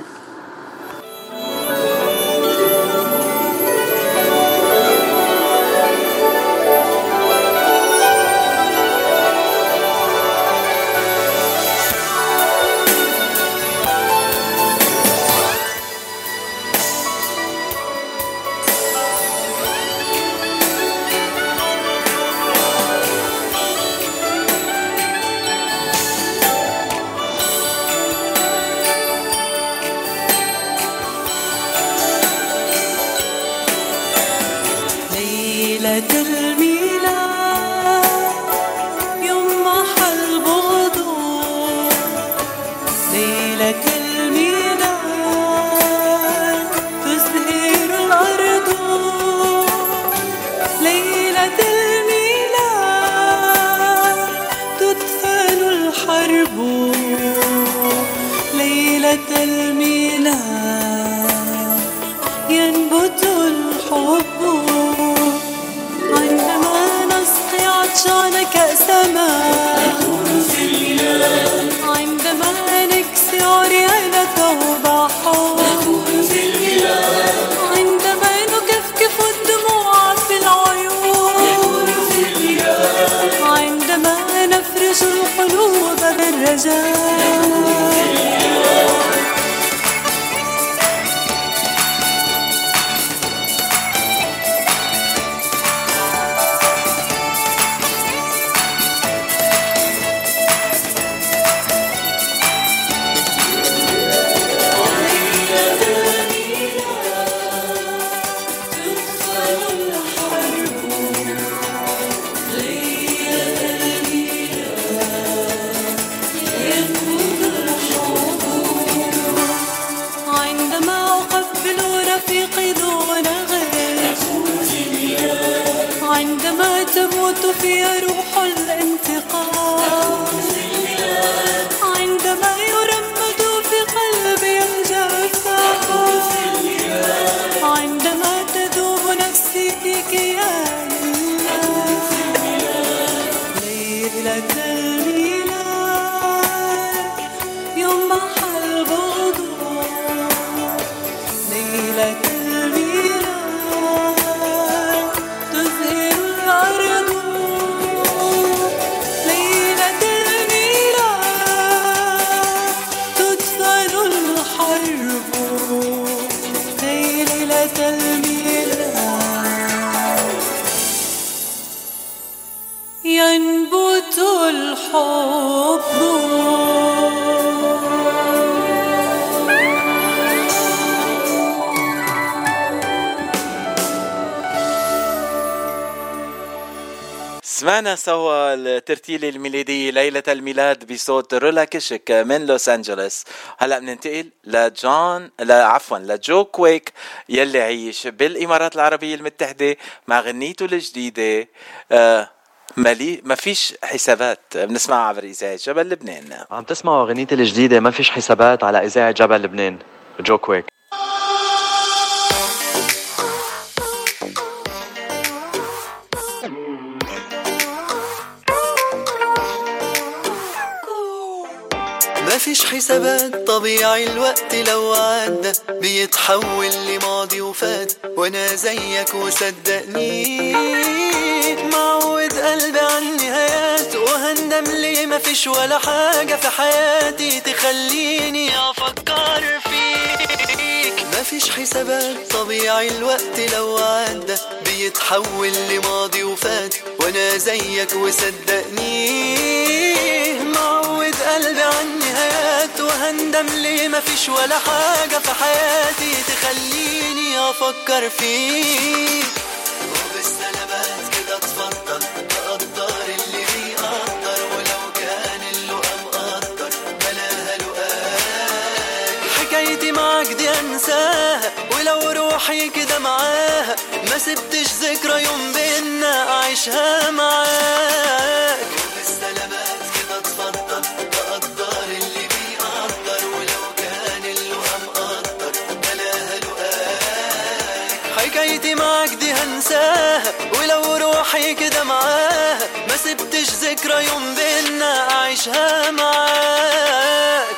سمعنا سوا الترتيلة الميلادية ليلة الميلاد بصوت رولا كشك من لوس أنجلوس. هلأ بننتقل لجو كويك يلي عيش بالإمارات العربية المتحدة مع غنيته الجديدة ما فيش حسابات. بنسمعها عبر إذاعة جبل لبنان. عم تسمعوا غنيتي الجديدة ما فيش حسابات على إذاعة جبل لبنان. جو كويك. ما فيش حسابات، طبيعي الوقت لو عدى بيتحول لماضي وفات، وانا زيك وصدقني معود قلبي عني وهندم ليه ما فيش ولا حاجة في حياتي تخليني افكر فيك. ما فيش حسابات طبيعي الوقت لو عدى بيتحول لماضي وفات، وانا زيك وصدقني معود قلبي عن نهايات، وهندم ليه ما فيش ولا حاجة في حياتي تخليني افكر فيك. وبالسلامات كده اتفضل تقدر اللي بيقدر، ولو كان اللقا مقدر بلاها لقاك. حكايتي معاك دي انساها ولو روحي كده معاها، ما سبتش ذكرى يوم بينا اعيشها معاك. وبالسلامات كده اتفضل تقدر اللي بيقدر، ولو كان اللقا مقدر بلاها لقاك. حكايتي معاك دي هنساها ولو روحي كده معاها، ما سبتش ذكرى يوم بينا اعيشها معاك.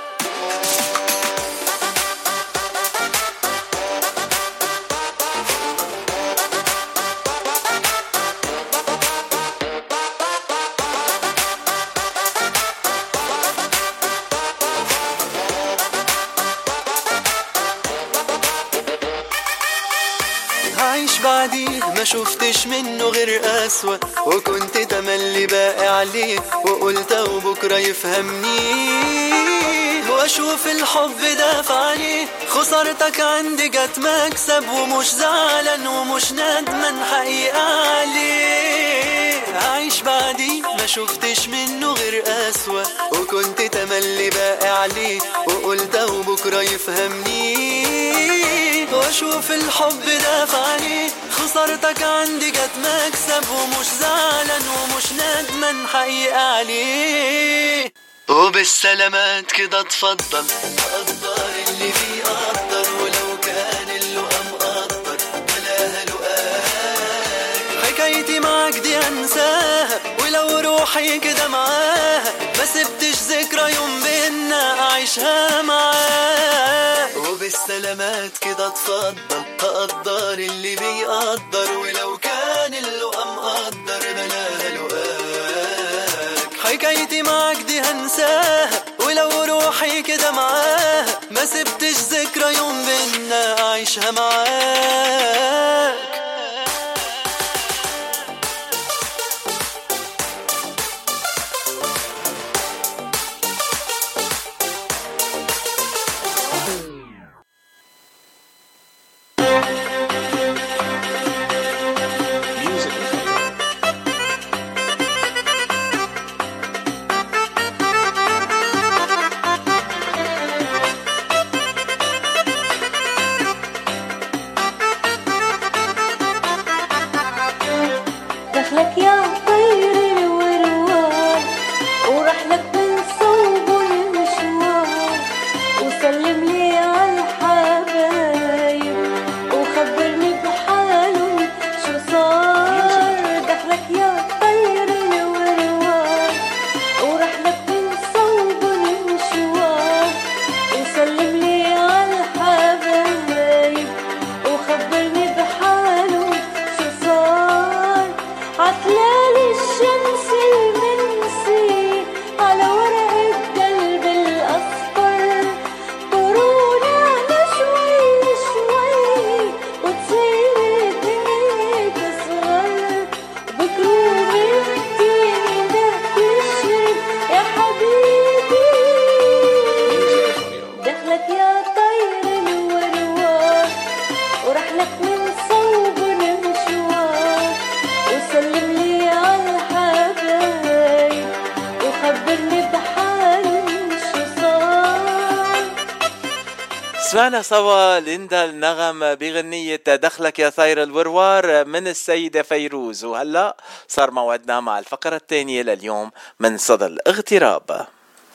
عايش بعديه ما شفتش منه غير قسوة، وكنت تملي باقي عليه وقلت وبكرة يفهمني، واشوف الحب دافع عليه. خسارتك عندي جت مكسب، ومش زعلان ومش ندمان حقيقة عليه. عايش بعديه ما شفتش منه غير قسوة، وكنت تملي باقي عليه وقلت وبكرة يفهمني، واشوف الحب دافع عليه. خسارتك عندي جت مكسب، ومش زعلان ومش ندمان حقيقة عليه. وبالسلامات كده اتفضل تقدر اللي بيقدر، ولو كان اللقا مقدر بلاها لقاك. حكايتي معاك دي انساها ولو روحي كده معاها، ما سبتش ذكرى يوم بينا اعيشها معاك. وبالسلامات كده اتفضل تقدر اللي بيقدر، ولو كان اللقا مقدر بلاها لقاك. حكايتي معاك دي هنساها ولو روحي كده معاها، ما سبتش ذكرى يوم بينا اعيشها معاك. دخلك يا طير الوروار، ورحلك من صوب المشوار، وسلم لي عالحبايب وخبرني بحالهم شو صار. دخلك يا طير الوروار، ورحلك من صوب المشوار، وسلم لي عالحبايب وخبرني بحالهم شو صار. عتلال الشمس المنسي على ورق القلب الأصفر، طرونا شوي شوي وتصير الدنيا تصغر. بكروب التين ده يشرب يا حبيبي. دخلك يا طير الوروار، ورحلك من صوب المشوار، وسلم لي عالحبايب وخبرني بحالهم شو صار. سمعنا سوا ليندا النغم بغنية دخلك يا طير الوروار من السيدة فيروز. وهلأ صار موعدنا مع الفقرة الثانية لليوم من صدى الاغتراب.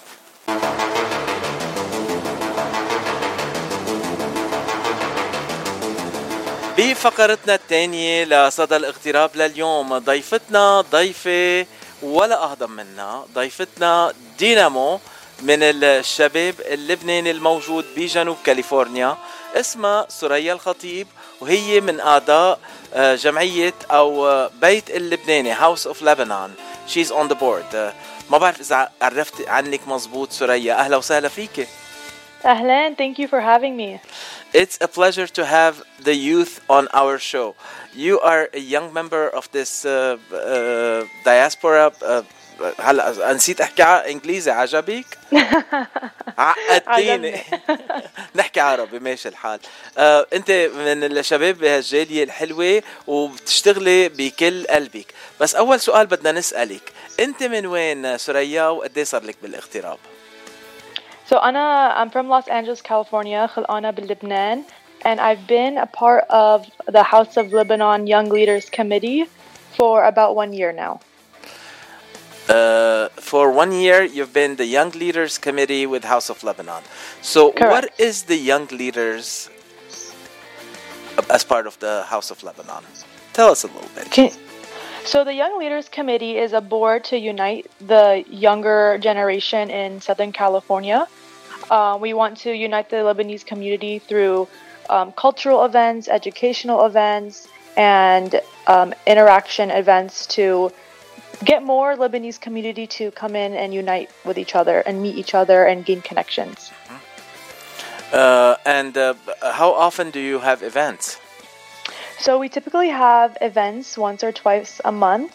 بفقرتنا الثانية لصدى الاغتراب لليوم ضيفتنا ضيفة ولا أهضم منا، ضيفتنا دينامو من الشباب اللبناني الموجود بجنوب كاليفورنيا، اسمها سوريا الخطيب، وهي من أعضاء جمعية أو بيت اللبناني House of Lebanon she's on the board. ما بعرف إذا عرفت عنك مزبوط سوريا. أهلا وسهلا فيك. Ahlan, thank you for having me. It's a pleasure to have the youth on our show. You are a young member of this diaspora. هلا نسيت احكي انجليزي. عجبك؟ عقدتيني. نحكي عربي ماشي الحال. انت من الشباب بهالجاليه الحلوه وبتشتغلي بكل قلبك. بس اول سؤال بدنا نسالك، انت من وين سوريا وقد ايه صار لك بالاغتراب؟ So I'm from Los Angeles, California, خلقانة بلبنان, and I've been a part of the House of Lebanon Young Leaders Committee for about 1 year now. For 1 year, you've been the Young Leaders Committee with House of Lebanon. So Correct. What is the Young Leaders as part of the House of Lebanon? Tell us a little bit. So the Young Leaders Committee is a board to unite the younger generation in Southern California. We want to unite the Lebanese community through cultural events, educational events, and interaction events to get more Lebanese community to come in and unite with each other and meet each other and gain connections. And how often do you have events? So we typically have events once or twice a month.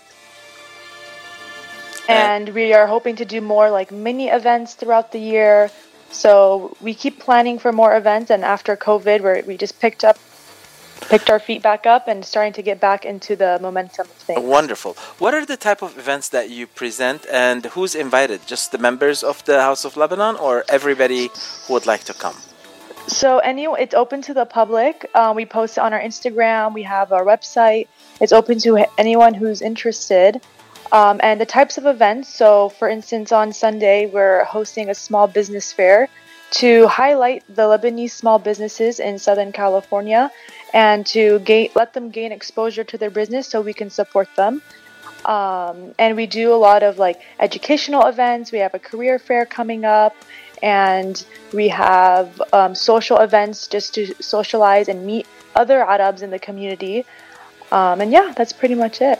And we are hoping to do more like mini events throughout the year. So we keep planning for more events, and after COVID, where we just picked our feet back up and starting to get back into the momentum of things. Wonderful. What are the type of events that you present, and who's invited? Just the members of the House of Lebanon, or everybody who would like to come? So it's open to the public. We post it on our Instagram. We have our website. It's open to anyone who's interested. And the types of events. So for instance, on Sunday, we're hosting a small business fair to highlight the Lebanese small businesses in Southern California and to let them gain exposure to their business so we can support them. And we do a lot of like educational events. We have a career fair coming up. And we have social events just to socialize and meet other Arabs in the community. And yeah, that's pretty much it.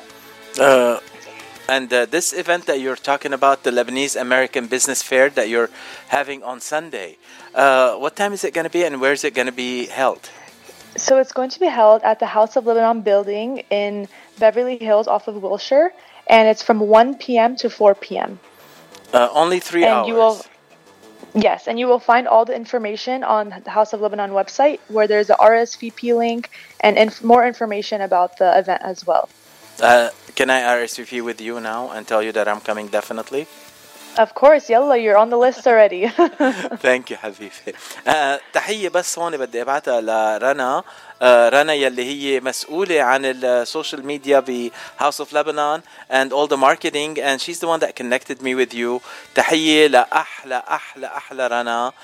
And this event that you're talking about, the Lebanese American Business Fair that you're having on Sunday, what time is it going to be and where is it going to be held? So it's going to be held at the House of Lebanon building in Beverly Hills off of Wilshire. And it's from 1 p.m. to 4 p.m. Only 3 hours. Yes, and you will find all the information on the House of Lebanon website, where there's a RSVP link and more information about the event as well. Can I RSVP with you now and tell you that I'm coming definitely? Of course, yalla, you're on the list already. Thank you حبيبي. تحية بس هون بدي ابعتها لرنا. رنا يلي هي مسؤولة عن السوشيال ميديا ب House of Lebanon and all the marketing, and she's the one that connected me with you. تحية لأحلى أحلى أحلى رنا.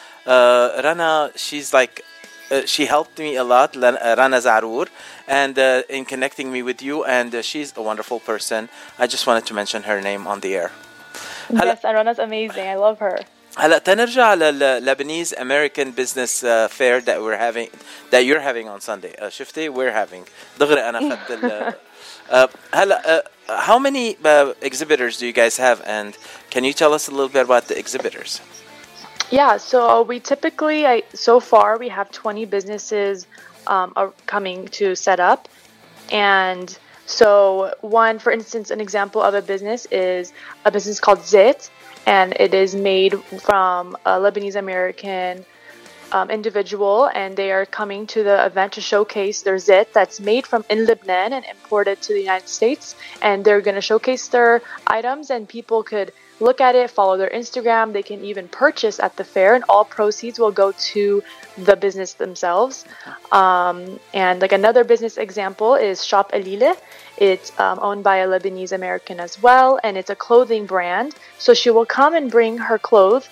رنا, she's like she helped me a lot, Rana Zarour, and in connecting me with you, and she's a wonderful person. I just wanted to mention her name on the air. Yes, Rana's amazing. I love her. هلا تنرجع للبنيز American Business Fair that you're having on Sunday. شفتي we're having دغري أنا خدت هلا how many exhibitors do you guys have, and can you tell us a little bit about the exhibitors? Yeah, so we typically so far we have 20 businesses are coming to set up, and so one, for instance, an example of a business is a business called Zit, and it is made from a Lebanese American individual, and they are coming to the event to showcase their Zit that's made in Lebanon and imported to the United States, and they're going to showcase their items, and people could look at it, follow their Instagram. They can even purchase at the fair, and all proceeds will go to the business themselves. And like another business example is Shop Elile. It's owned by a Lebanese American as well, and it's a clothing brand. So she will come and bring her clothes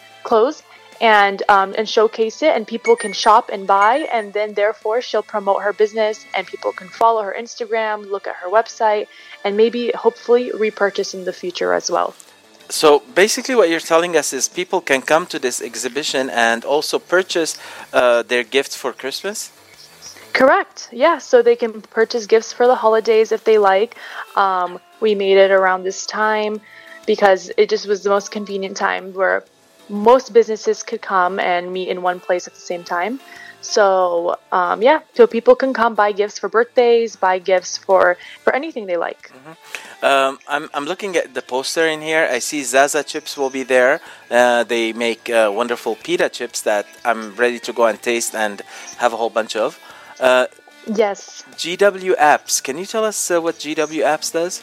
and showcase it, and people can shop and buy, and then therefore she'll promote her business, and people can follow her Instagram, look at her website, and maybe hopefully repurchase in the future as well. So basically what you're telling us is people can come to this exhibition and also purchase their gifts for Christmas? Correct. Yeah, so they can purchase gifts for the holidays if they like. We made it around this time. because it just was the most convenient time where most businesses could come and meet in one place at the same time. So so people can come buy gifts for birthdays, buy gifts for anything they like. I'm looking at the poster in here. I see Zaza chips will be there. They make wonderful pita chips that I'm ready to go and taste and have a whole bunch of. Yes. GW Apps. Can you tell us what GW Apps does?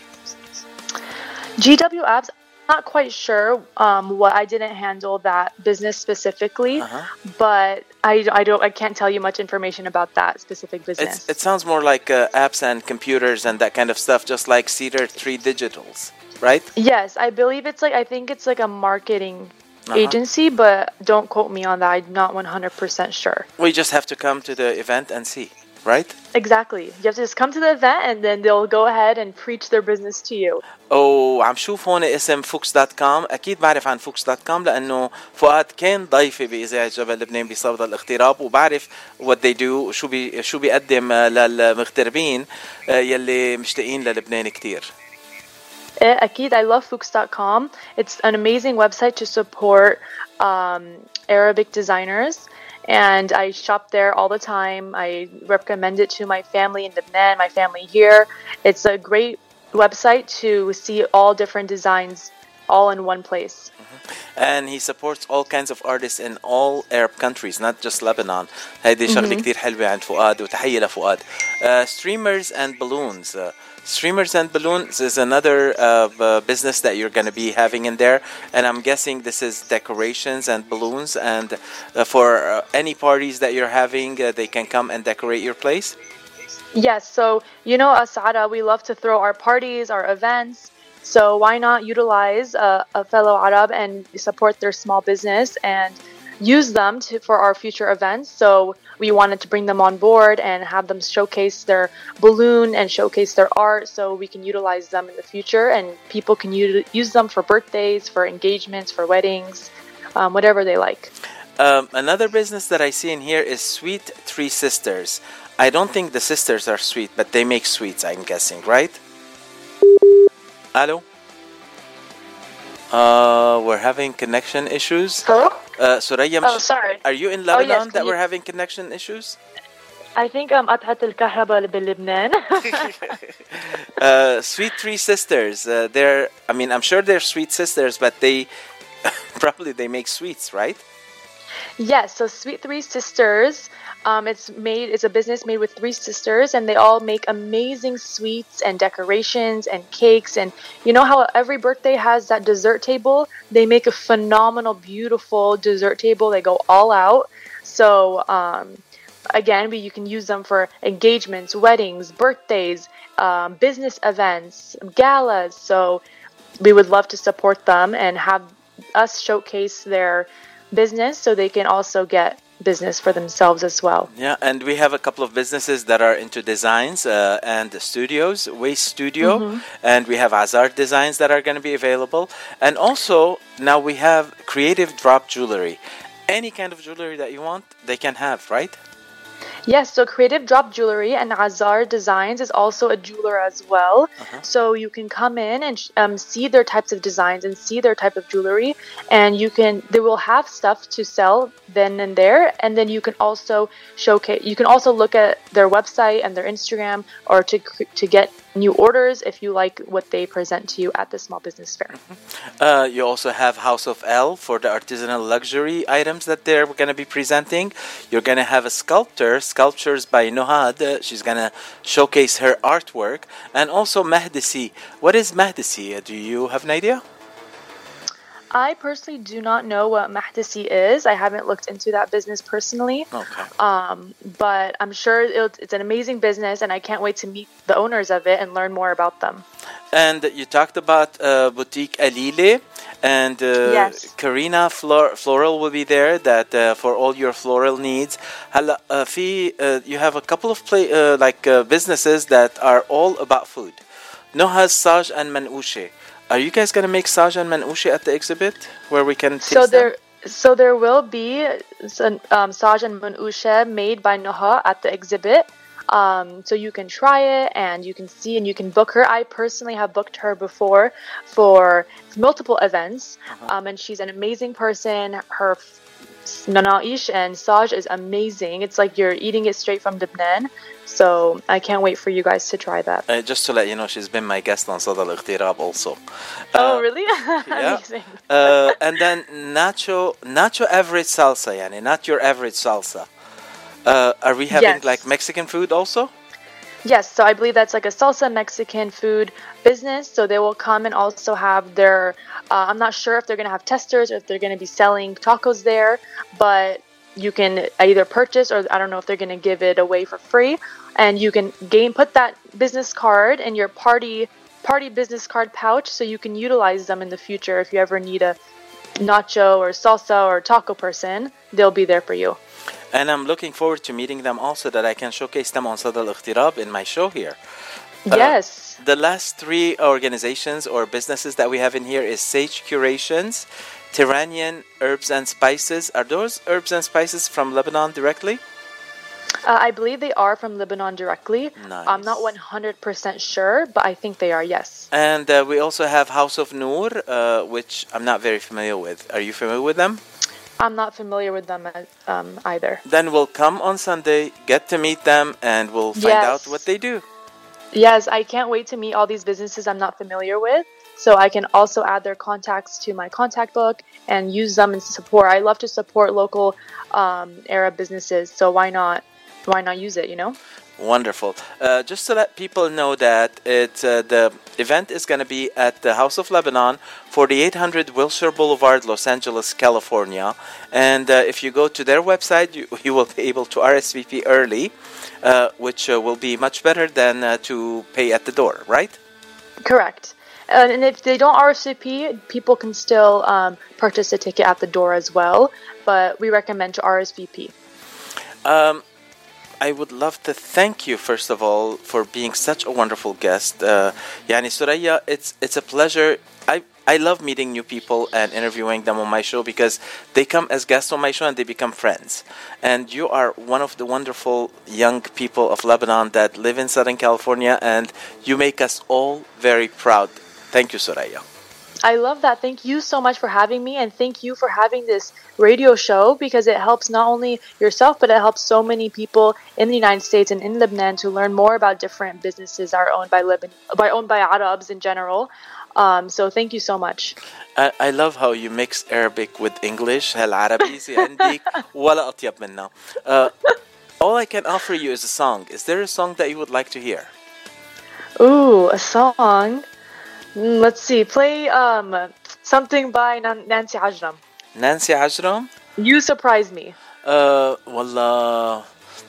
GW Apps, not quite sure what I didn't handle that business specifically, but I can't tell you much information about that specific business. It sounds more like apps and computers and that kind of stuff, just like Cedar Tree Digitals, right? Yes, I believe I think it's like a marketing agency, but don't quote me on that. I'm not 100% sure. We just have to come to the event and see, right? Exactly. You have to just come to the event and then they'll go ahead and preach their business to you. عم شوف هون اسم Fuchs.com. أكيد بعرف عن Fuchs.com لأنه فؤاد كان ضيفي بإذاعة جبل لبنان بصدد الاغتراب وبعرف what they do شو بيقدم للمغتربين يلي مشتاقين للبنان كتير. أكيد. I love Fuchs.com. It's an amazing website to support Arabic designers. And I shop there all the time. I recommend it to my family in Lebanon, my family here. It's a great website to see all different designs all in one place. And he supports all kinds of artists in all Arab countries, not just Lebanon. هيدي شغلة كتير حلوة عند فؤاد وتحية لفؤاد. Streamers and balloons. Streamers and balloons is another business that you're going to be having in there, and I'm guessing this is decorations and balloons, and for any parties that you're having, they can come and decorate your place? Yes, so us Ara, we love to throw our parties, our events, so why not utilize a fellow Arab and support their small business and use them for our future events. So we wanted to bring them on board and have them showcase their balloon and showcase their art so we can utilize them in the future, and people can use them for birthdays, for engagements, for weddings, whatever they like. Another business that I see in here is Sweet Three Sisters. I don't think the sisters are sweet, but they make sweets, I'm guessing, right? Hello? We're having connection issues. Hello? Soraya, sorry. Are you in Lebanon yes, that we're having connection issues? I think قطعت الكهرباء بلبنان. Sweet Three Sisters. I'm sure they're sweet sisters, but they probably they make sweets, right? Yes, so Sweet Three Sisters, it's a business made with three sisters, and they all make amazing sweets and decorations and cakes. And you know how every birthday has that dessert table? They make a phenomenal, beautiful dessert table. They go all out. So again, you can use them for engagements, weddings, birthdays, business events, galas. So we would love to support them and have us showcase their business so they can also get business for themselves as well. Yeah, and we have a couple of businesses that are into designs and studios, Waste Studio, and we have Azar Designs that are going to be available. And also, now we have Creative Drop Jewelry. Any kind of jewelry that you want, they can have, right? Yes, so Creative Drop Jewelry and Azar Designs is also a jeweler as well. So you can come in and see their types of designs and see their type of jewelry, and they will have stuff to sell then and there, and then you can also look at their website and their Instagram, or to get new orders if you like what they present to you at the small business fair. You also have House of L for the artisanal luxury items that they're going to be presenting. You're going to have a sculptures by Nohad. She's going to showcase her artwork. And also Mahdisi. What is Mahdisi? Do you have an idea? I personally do not know what Mahdisi is. I haven't looked into that business personally. Okay. But I'm sure it's an amazing business, and I can't wait to meet the owners of it and learn more about them. And you talked about Boutique Alile, and yes. Karina Floral will be there that for all your floral needs. You have a couple of businesses that are all about food. Nohaz Saj and Manouche. Are you guys going to make Saj and Manouche at the exhibit where we can taste them? So there will be Saj and Manouche made by Noha at the exhibit. So you can try it and you can see and you can book her. I personally have booked her before for multiple events, and she's an amazing person. Her nanaish and saj is amazing. It's like you're eating it straight from Lebanon. So I can't wait for you guys to try that. Just to let you know, she's been my guest on Sada Al-Ightirab also. Oh, really? Yeah. Amazing. And then nacho average salsa, yani, not your average salsa. Are we having Yes. like Mexican food also? Yes, so I believe that's like a salsa Mexican food business. So they will come and also have their, I'm not sure if they're going to have testers or if they're going to be selling tacos there, but you can either purchase or I don't know if they're going to give it away for free. And you can put that business card in your party business card pouch so you can utilize them in the future. If you ever need a nacho or salsa or taco person, they'll be there for you. And I'm looking forward to meeting them also, that I can showcase them on Sada Al-Ightirab in my show here. Yes. The last three organizations or businesses that we have in here is Sage Curations, Tyrannian Herbs and Spices. Are those herbs and spices from Lebanon directly? I believe they are from Lebanon directly. Nice. I'm not 100% sure, but I think they are, yes. And we also have House of Noor, which I'm not very familiar with. Are you familiar with them? I'm not familiar with them either. Then we'll come on Sunday, get to meet them, and we'll find out what they do. Yes, I can't wait to meet all these businesses I'm not familiar with. So I can also add their contacts to my contact book and use them in support. I love to support local Arab businesses. So why not use it, you know? Wonderful. Just to let people know that the event is going to be at the House of Lebanon, 4800 Wilshire Boulevard, Los Angeles, California. And if you go to their website, you will be able to RSVP early, which will be much better than to pay at the door, right? Correct. And if they don't RSVP, people can still purchase a ticket at the door as well. But we recommend to RSVP. I would love to thank you, first of all, for being such a wonderful guest. Yani Suraya, it's a pleasure. I love meeting new people and interviewing them on my show because they come as guests on my show and they become friends. And you are one of the wonderful young people of Lebanon that live in Southern California, and you make us all very proud. Thank you, Suraya. I love that. Thank you so much for having me, and thank you for having this radio show because it helps not only yourself, but it helps so many people in the United States and in Lebanon to learn more about different businesses that are owned by Arabs in general. So thank you so much. I love how you mix Arabic with English. هالعربي عندك ولا أطيب منها. All I can offer you is a song. Is there a song that you would like to hear? Ooh, a song. Let's see. Play something by Nancy Ajram. Nancy Ajram? You surprise me. Wallah.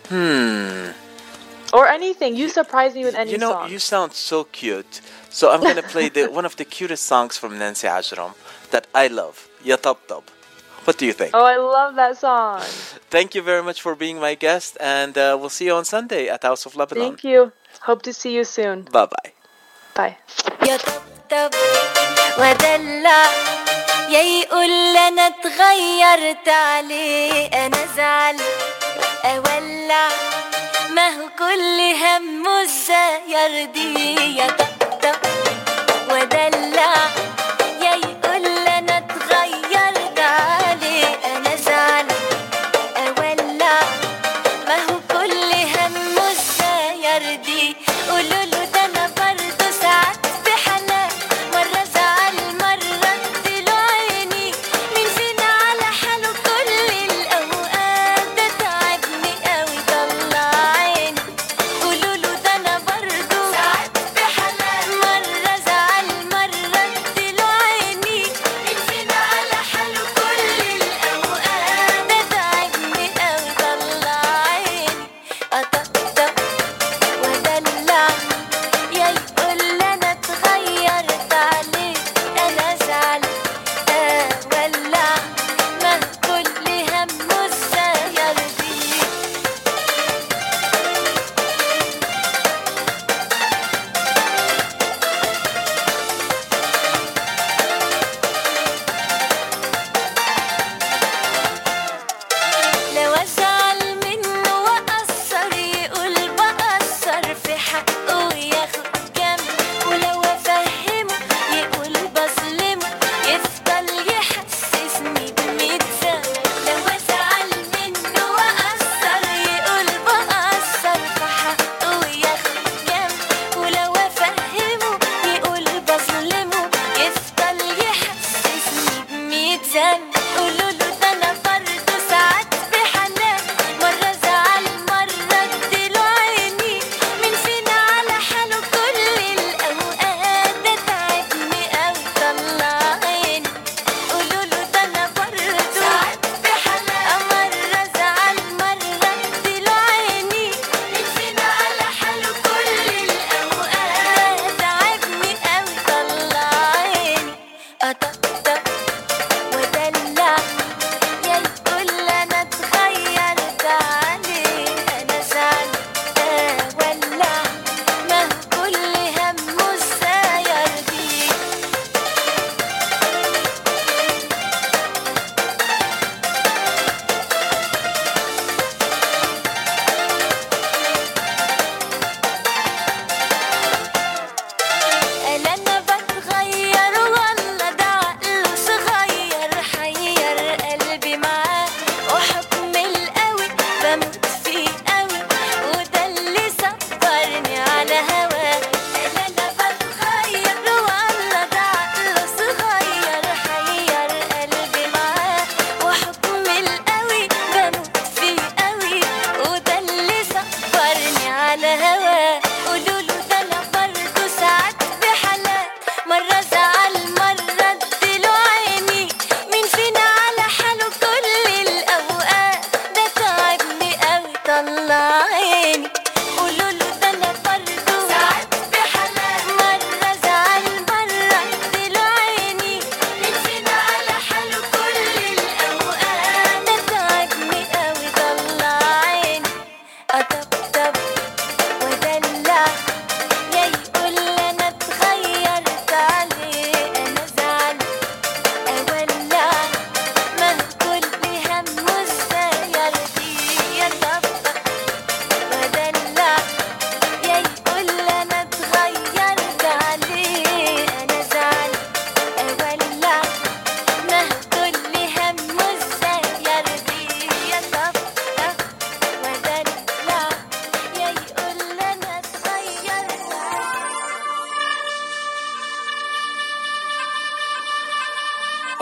Or anything. You surprise me with any You know, song. you sound so cute. So I'm going to play one of the cutest songs from Nancy Ajram that I love. Ya Tabtab. What do you think? Oh, I love that song. Thank you very much for being my guest, and we'll see you on Sunday at House of Lebanon. Thank you. Hope to see you soon. Bye-bye. Bye. يا طبطب ودلع يا يقول انا اتغيرت عليه انا زعل اولع ما هو كل همه ازاي يرضيه يا طبطب ودلع يا يقول انا اتغيرت عليه انا زعل اولع ما هو كل همه ازاي يرضيه قولوا له ده انا برضه ساعات بحنان مرة زعل مرة اديله عيني مين فينا على حاله كل الأوقات ده تعبني قوي طلع عيني قولوا له ده انا برضه ساعات بحنان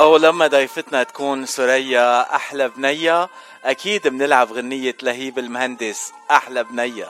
أو لما ضيفتنا تكون سوريا أحلى بنية، أكيد بنلعب غنية لهيب المهندس أحلى بنية.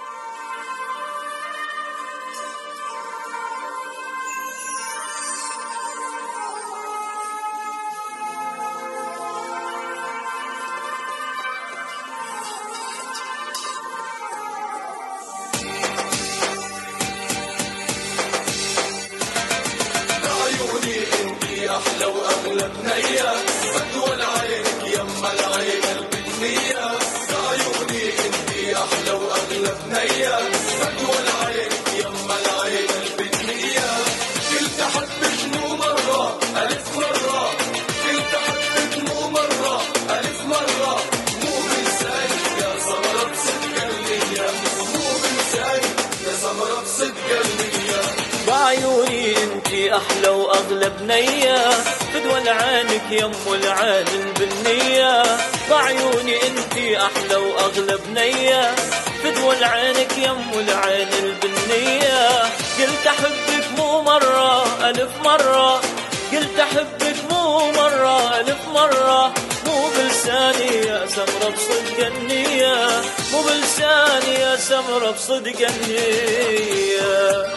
أحلى وأغلى بنية بدول عينك يما العين البنية، عيوني انتي أحلى وأغلى بنية بدول عينك يما العين البنية. قلت أحبك مو مرة ألف مرة، قلت أحبك مو مرة ألف مرة، مو بلساني يا سمرة بصدق قلبية، مو بلساني يا سمرة بصدق قلبية. بعيوني انتي احلى واغلى بنية فدوى لعينك يم العين البنية، بعيوني انتي احلى واغلى بنية فدوى لعينك يم العين البنية. قلت احبك مو مرة الف مرة، قلت احبك مو مرة الف مرة، مو بلساني يا سمرة بصدق النية، مو بلساني يا سمرة بصدق النية.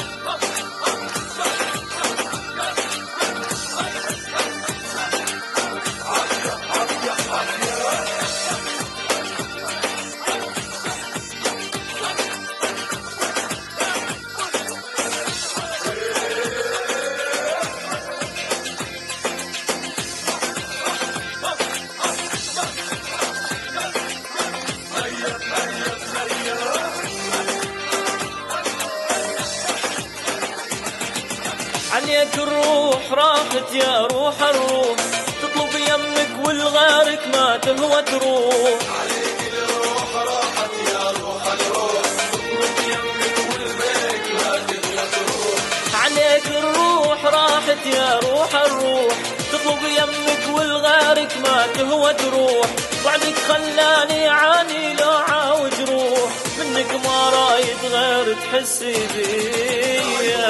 عليك الروح راحت يا روح الروح، تطلب يمك والغارك ما تهوى تروح. عليك الروح راحت يا روح الروح، تطلب يمك والغارك ما تهوى تروح. عليك الروح راحت يا روح الروح، تطلب يمك والغارك ما تهوى تروح. بعدك خلاني عاني لو عاوج روح، منك ما رايد غير تحسي بيا.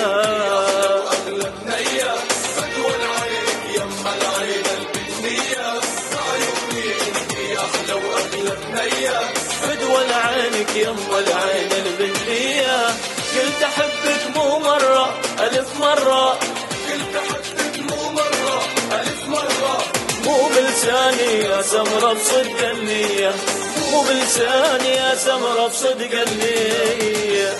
فدوى لعينك يما العين البنية، قلت احبك مو مرة الف مرة، قلت احبك مو مرة الف مرة، مو بلساني يا سمرة بصدق النية، مو بلساني يا سمرة بصدق النية.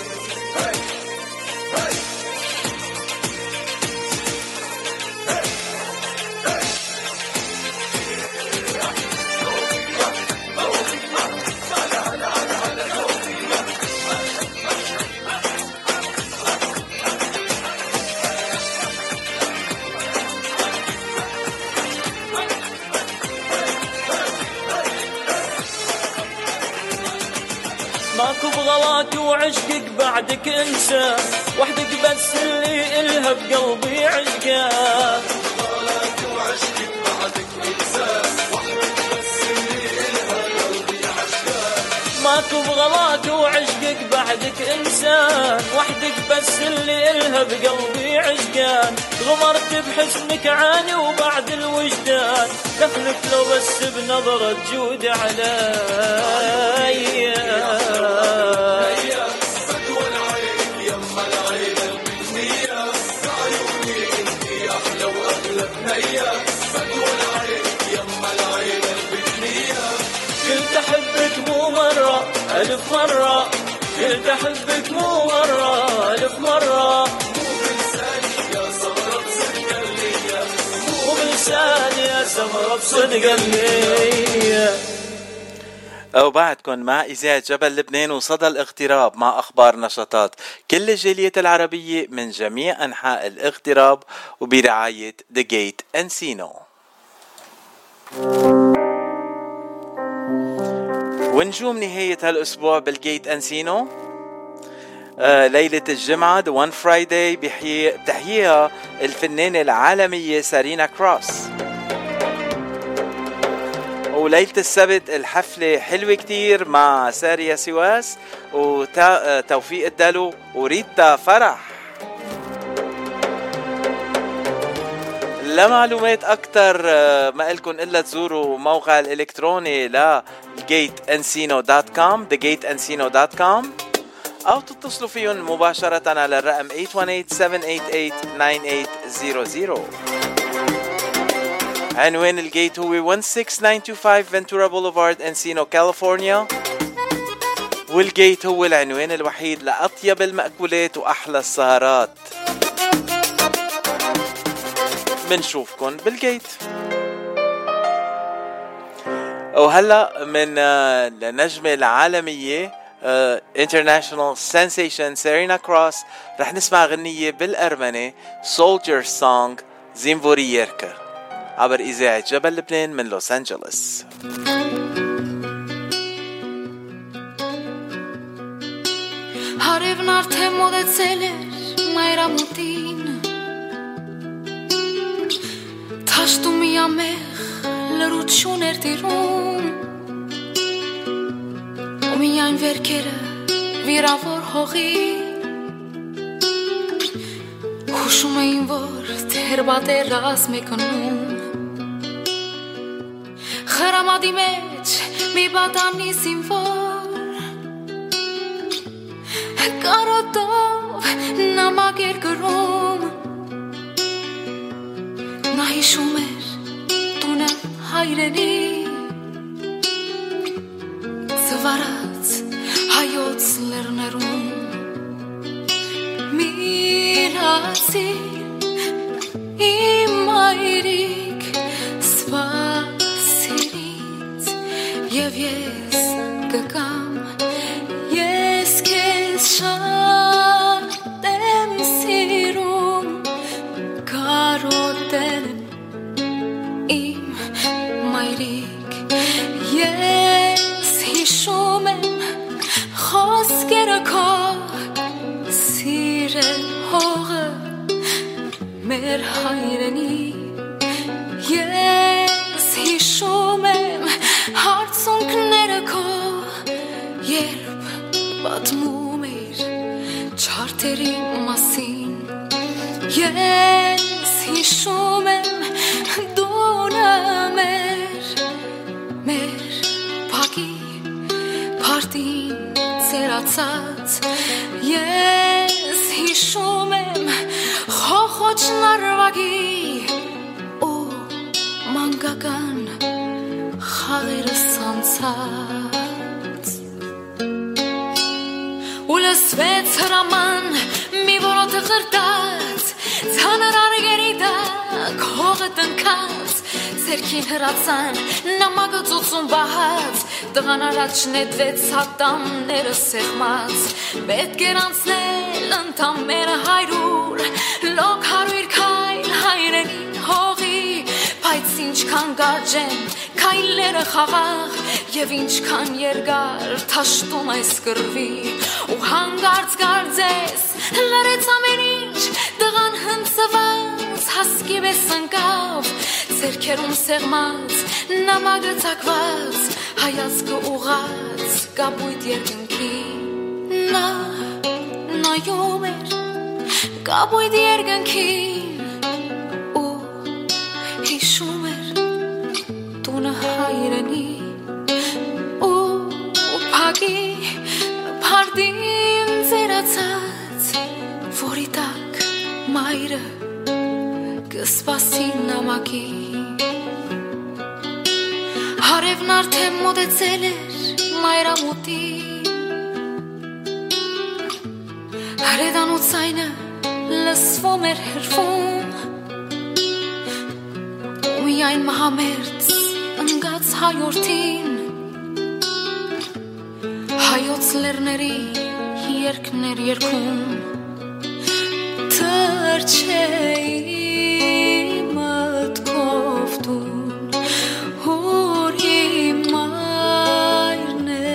ماكو بغلاك وعشقك بعدك انسى، وحدك بس اللي إلها بقلبي عشقان. بغلاك وعشقك بعدك انسى، وحدك بس اللي إلها بقلبي عشقان. ماكو بغلاك وعشقك بعدك انسان، وحدك بس اللي إلها بقلبي عشقان. غمرت بحسنك عاني وبعد الوجدان، دخلك لو بس بنظرة جود علي. بدوى العين يما العين البنية، عيوني انتي احلى واغلى بنية، بدوى العين يما العين البنية. قلت احبك مو مرة الف مرة، قلت احبك مو مرة الف مرة، مو بلساني يا سمرة بصدق النية، مو بلساني يا سمرة بصدق النية. وبعدكم مع إذاعة جبل لبنان وصدى الاغتراب مع أخبار نشاطات كل الجالية العربية من جميع أنحاء الاغتراب وبرعاية The Gate Encino. ونجوم نهاية هالأسبوع بالجيت أنسينو ليلة الجمعة The One Friday بتحييها الفنانة العالمية سارينا كروس. وليلة السبت الحفلة حلوة كتير مع ساريا سواس وتوفيق الدلو وريتا فرح. لمعلومات أكتر ما إلكن إلا تزوروا موقع الإلكتروني thegateEncino.com thegateEncino.com أو تتصلوا فيهم مباشرة على الرقم 818-788-9800. عنوان الجيت هو 16925 فنتورا بوليفارد انسينو كاليفورنيا، والجيت هو العنوان الوحيد لأطيب المأكولات وأحلى السهرات. منشوفكن بالجيت. وهلأ من النجمة العالمية International Sensation سيرينا كروس رح نسمع غنية بالأرمني Soldier Song زيمفورييركا عبر إذاعة جبل لبنان من لوس أنجلوس. Հարևն արդեն մոտեցել էր մայրամուտին, թաշտում միամեղ լրություն էր տիրում, ու միայն վերքերը վիրավոր հողի հուշում էին, որ թերբատեր ասմեկնում, խրամադի մեջ մի բատանի զինվոր կարոտով նամակ էր գրում, նա հիշում էր տունը հայրենի, զվարած հայոց լեռներում, միրացի իմ մայրիկ սպասիրից, և ես կգամ, ես քեզ շատ եմ սիրում, կարոտել իմ մայրիկ, ես հիշում եմ խոսքերը քո, սիրել հողը մեր հայրենի, ես հիշում եմ հարցունքները քո, երբ պատմում էր չարթերի մասին, ես հիշում եմ դունը մեր փակի փարտին ծերացած, ես հիշում եմ խոխոչն արվագի ու մանկական խաղերը սանցած, ու լսվեց հրաման մի որոտ ղրտած, ցաներ արգերի տակ հողը տնքած, ձերքին հրացան նամակը ծուծում բահած, տղան առաջ նետվեց հատամները սեղմած, պետք էր անցնել ընդամենը 100, լոկ 100 քայլ հայրենի հողի, բայց ինչքան կարճ են քայլերը խաղաղ, և ինչքան երկար թաշտում այս կռվի, ու հանգարց կարծես լրեց ամեն ինչ, տղան հնձված հասկի պես ընկավ, ձերքերում սեղմած նամակը ծակված, հայացքը ուղղած կապույտ երկնքի, նա նայում էր կապույտ երկնքին ու հիշում էր տունը հայրենի ու փակի փարտին ծերացած, որի տակ մայրը կսպասի նամակի, հարևն արդեն մոտեցել էր մայրամուտի, հրեդանու ցայնը լսվում էր հրվում, ու միայն մահամերձ ընկած հայորդին, հայոց լեռների երգներ երգում, թրջեի մտքով տուն, որ իմ մայրն է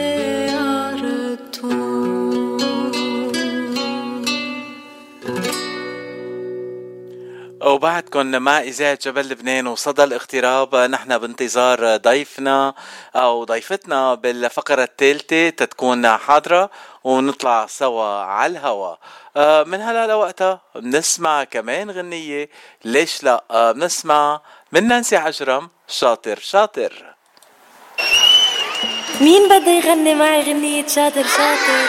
արթուն. وبعدكم مع إذاعة جبل لبنان وصدى الاغتراب. نحن بانتظار ضيفنا أو ضيفتنا بالفقرة الثالثة تتكون حاضرة ونطلع سوا على الهوا. من هلا لوقتها بنسمع كمان غنية، ليش لا؟ بنسمع من نانسي عجرم شاطر شاطر. مين بده يغني معي غنية شاطر شاطر؟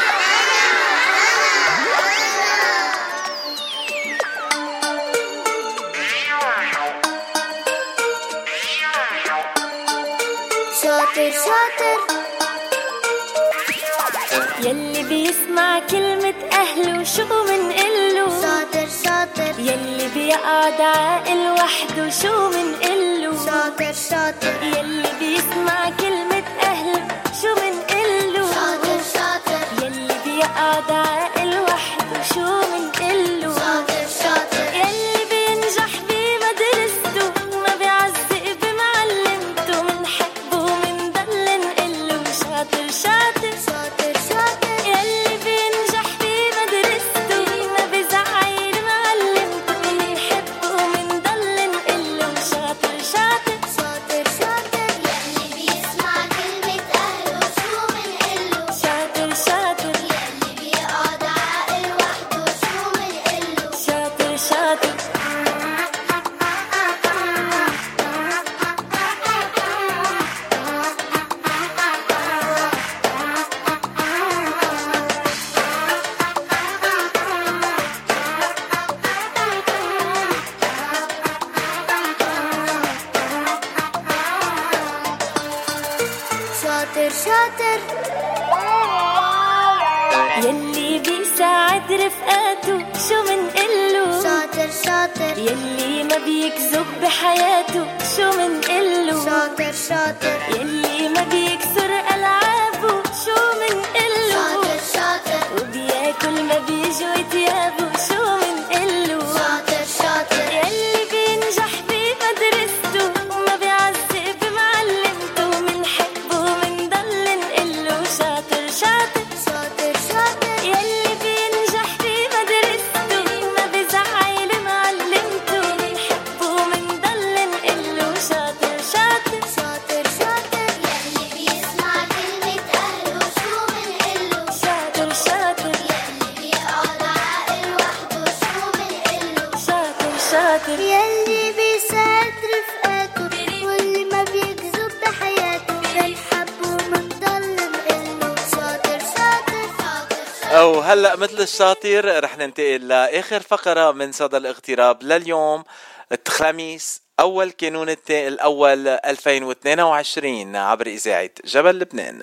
شاطر شاطر يلي بيسمع كلمة أهله شو منقله. شاطر شاطر يلي بيقعد عاقل وحده شو منقله. شاطر شاطر يلي بيسمع كلمة أهله شو منقله. شاطر شاطر يلي بيقعد عاقل وحده شو منقله. شاطر شاطر يلي بينجح بمدرسته ما بيعزق بمعلمته منحبه ومنضل نقله. شاطر شاطر شاطر شاطر يلي بينجح بمدرسته ما بيزعل معلمته منحبه ومنضل نقله. شاطر شاطر شاطر شاطر يلي بيسمع كلمة أهله شو منقله. شاطر شاطر يلي بيقعد عاقل وحده شو منقله. شاطر شاطر شاطر شاطر يلي بيساعد رفقاته شو منقله. شاطر شاطر يلي ما بيكذب بحياته شو منقله. شاطر شاطر يلي ما بيكسر ألعابه شو منقله. شاطر شاطر وبياكل ما بيجوا تيابه شو منقله. شاطر شاطر يلي بينجح بمدرسته وما بيعزق بمعلمته منحبه ومنضل نقله. شاطر شاطر شاطر شاطر يلي بينجح بمدرسته ما بيزعل معلمته منحبه ومنضل نقله. شاطر شاطر شاطر شاطر يلي بيسمع كلمة أهله شو منقله. شاطر شاطر يلي بيقعد عاقل وحده شو منقله. شاطر شاطر يلي بيساعد رفقاته واللي ما بيكذب بحياته بنحبه ومنضل نقله. شاطر شاطر شاطر أو هلأ مثل الشاطر رح ننتقل لآخر فقرة من صدى الاغتراب لليوم الخميس أول كانون الأول 2022 عبر إذاعة جبل لبنان.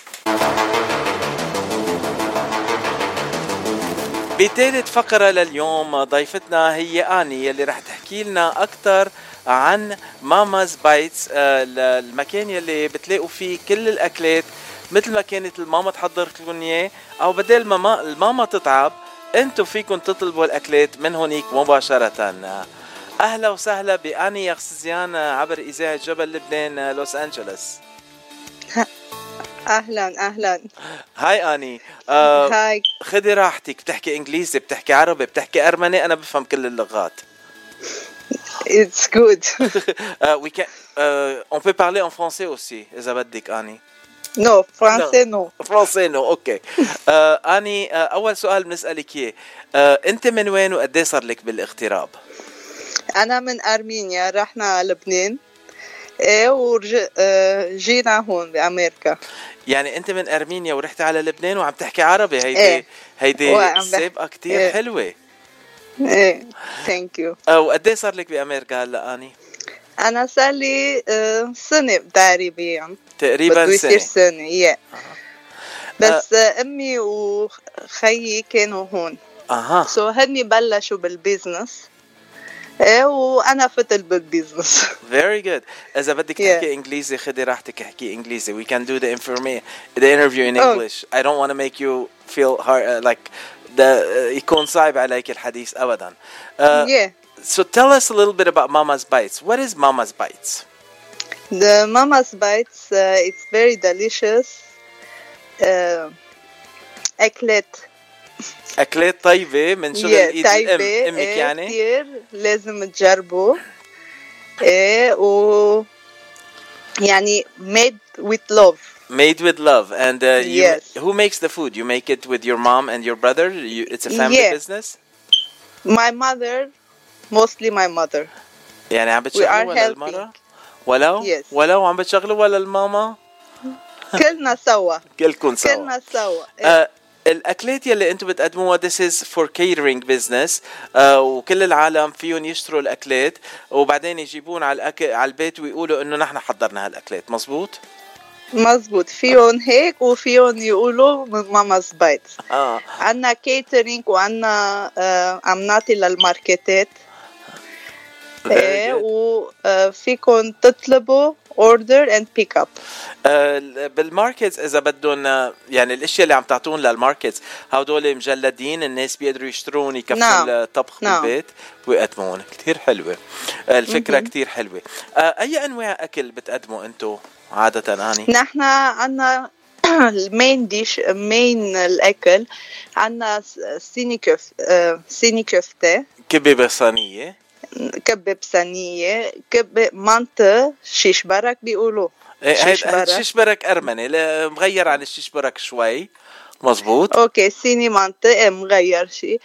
بثالث فقرة لليوم ضيفتنا هي آني يلي رح تحكي لنا أكتر عن ماماز بايتس، المكان يلي بتلاقوا فيه كل الأكلات مثل ما كانت الماما تحضر لكم إياه، أو بدل ما الماما تتعب أنتوا فيكم تطلبوا الأكلات من هونيك مباشرة. أهلا وسهلا بآني يغسزيان عبر إذاعة جبل لبنان لوس أنجلوس. اهلا اهلا. هاي آني. هاي. خدي راحتك، بتحكي انجليزي، بتحكي عربي، بتحكي ارمني، انا بفهم كل اللغات. It's good. We can on peut parler en français aussi اذا بدك آني. No, français no. فرنسي نو. اوكي. آني اول سؤال بنسألك اياه، انت من وين وقد ايه صار لك بالاغتراب؟ انا من ارمينيا، رحنا لبنان ايه ورجينا هون بامريكا. يعني انت من ارمينيا ورحت على لبنان وعم تحكي عربي. هيدي هيدي سابقة كتير إيه. حلوة. ايه ثانك يو. وقد ايه صار لك بامريكا هلا آني؟ انا صار لي سنه تقريبا تقريبا سنه yeah. بس امي وخيي كانوا هون. سو هني بلشوا بالبيزنس ايه وانا فتل بالبيزنس. Very good. إذا بدك تحكي إنجليزي خدي راحتك احكي إنجليزي. We can do the interview in English. I don't want to make you feel hard, like يكون صعب عليك الحديث أبدا. Yeah. So tell us a little bit about Mama's Bites. What is Mama's Bites? The Mama's Bites, it's very delicious. أكلات اكلات طيبه من شغل ايد الام امك يعني كتير لازم تجربوا. و يعني made with love. Made with love. And yes. Who makes the food? You make it with your mom and your brother? It's a family business? My mother, mostly my mother. يعني عم بتشغلوا ولا المرة؟ ولو عم بتشغلوا ولا الماما؟ كلنا سوا. كلكم سوا. كلنا سوا. الأكلات يلي أنتم بتقدموها this is for catering business. وكل العالم فيهم يشتروا الأكلات وبعدين يجيبون على البيت ويقولوا إنه نحن حضرنا هالأكلات. مزبوط؟ مزبوط. فيهم هيك وفيهم يقولوا ماما's bites. عنا كيترينج وعنا عم نعطي للماركتات. وفيكم تطلبوا order and pick up. بالماركتس إذا بدهم يعني الأشياء اللي عم تعطون للماركتس هودول مجلدين الناس بيقدروا يشترون يكفوا الطبخ بالبيت ويقدمون. كتير حلوة الفكرة. كتير حلوة. أي أنواع أكل بتقدموا أنتو عادة آني؟ نحن عنا المين ديش مين الأكل عنا سيني كفتة كبة بصينية كبة بصينية كبة منطة شيش برك بيقولوا شيش برك أرمني مغير عن الشيش برك شوي. مزبوط. اوكي سيني منطقة مغير شي.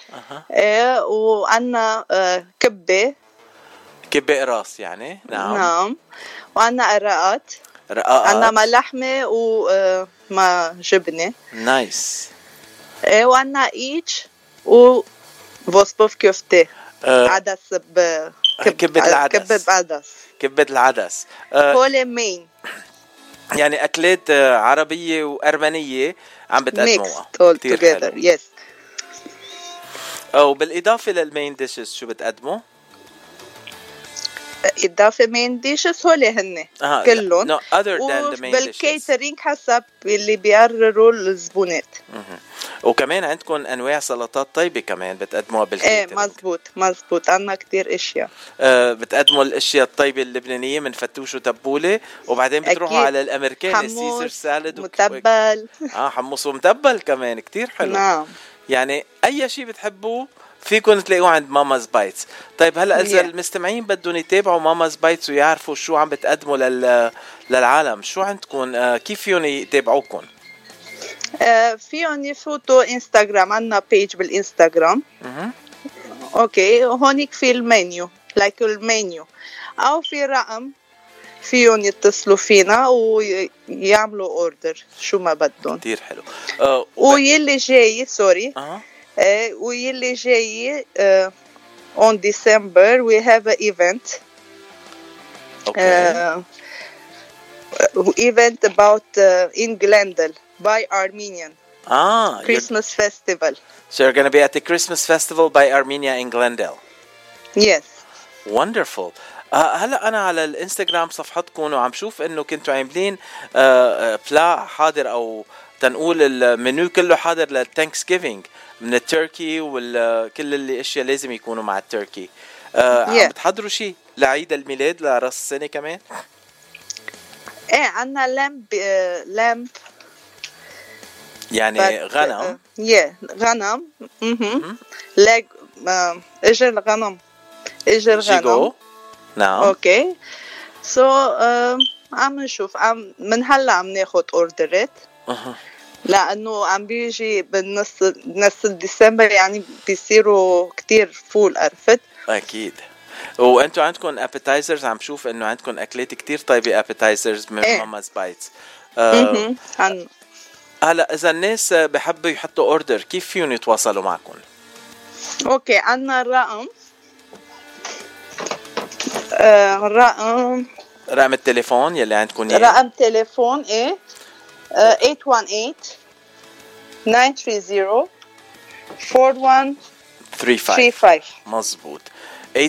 وعنا كبة قراص يعني. نعم. وعنا رقات. عنا ما لحمة وما جبنة. نايس. وعنا ايش وفوسبوف كفتة. عدس كبة العدس. كبة العدس. هول مين يعني أكلات عربية وأرمنية عم بتقدموها. كتير حلو. يس. وبالإضافة للمين ديشز شو بتقدموا؟ إضافة مين ديشز هول هن كلهم. وبالكيترينج حسب اللي بيقرروا الزبونات. وكمان عندكم أنواع سلطات طيبة كمان بتقدموها بالكيترينج. مزبوط عنا كتير إشياء. بتقدموا الأشياء الطيبة اللبنانية من فتوش وتبولة وبعدين بتروحوا على الأمريكاني السيزر سالد متبل. حمص ومتبل كمان كتير حلو. نعم. يعني أي شيء بتحبوه فيكم تلاقوه عند ماما's بايتس. طيب هلا إذا المستمعين بدهم يتابعوا ماما's بايتس ويعرفوا شو عم بتقدموا للعالم شو عندكم كيف فيهم يتابعوكم؟ فيهم يفوتوا انستغرام عنا بيج بالانستغرام. اوكي هونيك في المنيو لايك المنيو او في رقم فيهم يتصلوا فينا ويعملوا اوردر شو ما بدهم. كتير حلو. ويلي جاي سوري ويلي جاي on December we have an event. Event about in Glendale by Armenian. Christmas festival. So you're going to be at the Christmas festival by Armenia in Glendale. Yes. Wonderful. هلا أنا على الإنستغرام صفحتكم وعم شوف إنه كنتوا عاملين بلا حاضر أو تنقول المنيو كله حاضر للتانكس جيفينج من التركي وكل اللي اشياء لازم يكونوا مع التركي. عم بتحضروا شيء لعيد الميلاد لراس السنه كمان؟ عنا لامب يعني غنم. غنم. لاج اجر الغنم. جيجو. نعم. اوكي عم نشوف من هلا عم ناخد اوردرات. لأنه عم بيجي بالنص ديسمبر يعني بيصيروا كتير فول عرفت. أكيد. وأنتوا عندكم appetizers عم شوف إنه عندكم أكلات كتير طيبة appetizers من ماما's بايتس. هلا إذا الناس بحبوا يحطوا أوردر كيف فيهم يتواصلوا معكم؟ أوكي عنا الرقم رقم التليفون يلي عندكم رقم تليفون 818-930-4135. مزبوط. 818-930-4135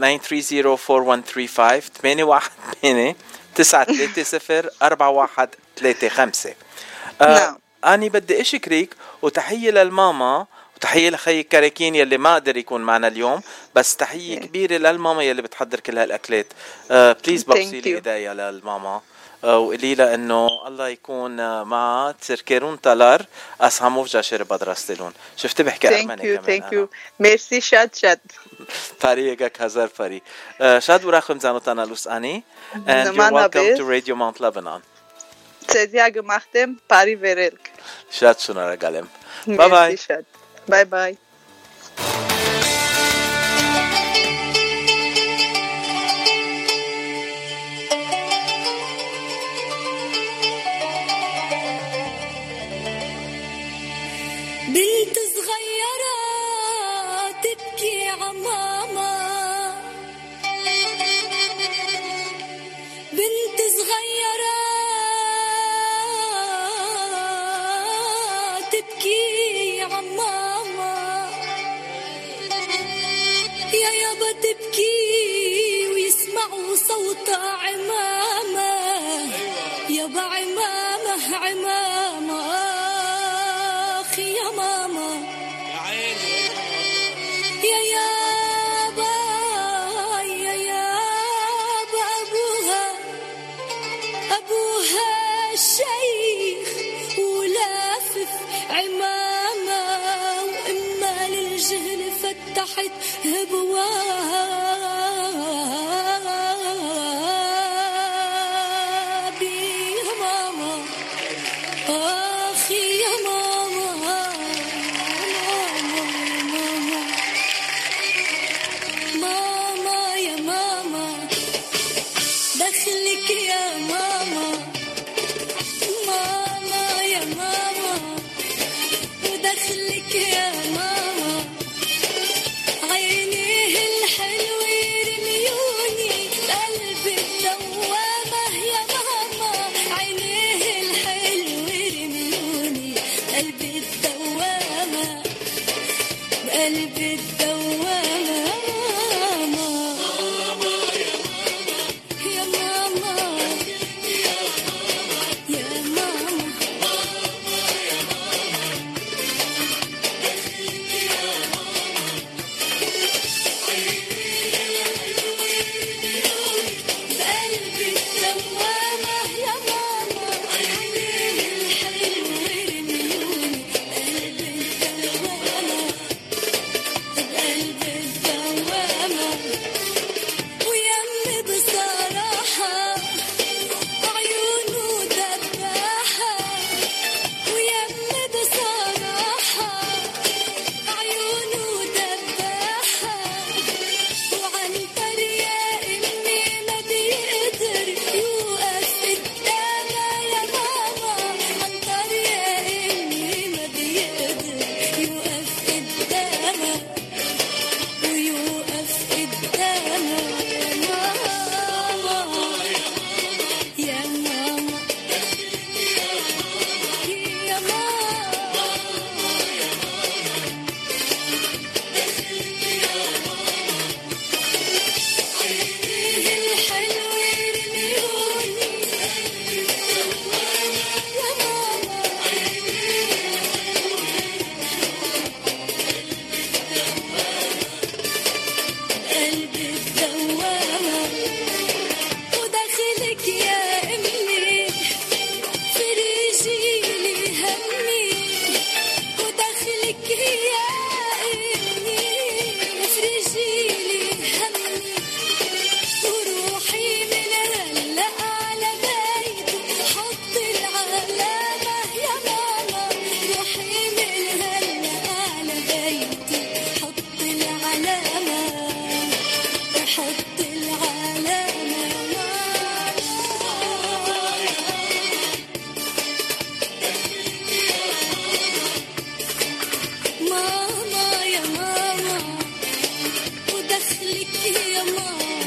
818-930-4135. نعم. أنا بدي أشكرك وتحية للماما وتحية لخي كراكين يلي ما قدر يكون معنا اليوم بس تحية كبيرة للماما يلي بتحضر كل هالأكلات. بليز بوصي لي إيديا للماما وقولي لها انه الله يكون معها تركيرون تالار اسهموف جاشر بدرستلون. شفت بحكي ارمني كمان. ثانك يو ميرسي شاد فريقك هزار فري شاد وراخم زانوتانا لوساني and you're welcome to Radio Mount Lebanon. تزيا gemachtem pari verelk. شاد شنو رجالم. باي باي. باي باي. بنت صغيرة تبكي عماما، بنت صغيرة تبكي عماما، يا يابا تبكي ويسمعوا صوت عماما، يابا عمامة عمامة يا ماما يا يابا يا يابا أبوها شيخ ولافف عمامة، وإما للجهل فتحت أبواب يا ماما أخي يا ماما ماما يا ماما دخلك يا ماما ماما يا ماما ودخلك يا ماما عينيه الحلو يرميوني قلبي الدوامة يا ماما عينيه الحلو يرميوني قلبي الدوامة قلبي الدوامة يا ماما يا ماما قلبي الدوامة يا ماما عينيه الحلو يرميوني قلبي الدوامة قلبي الدوامة ويمي بصراحة عيونه دباحة ويمي بصراحة عيونه دباحة وعنتر يا إمي ما بيقدر يوقف قدامها يا ماما عنتر يا إمي ما بيقدر يوقف قدامها ويوقف قدامها يا ماما يا ماما عينيه الحلو يرميوني يا ماما قلبي الدوامة وداخلك يا أمي فريجيلي همي وداخلك يا أمي فريجيلي همي وروحي من هلا على بيته حط العلامة يا ماما روحي من هلا على بيته حط العلامة حط العلامة ماما يا ماما ودخلك يا ماما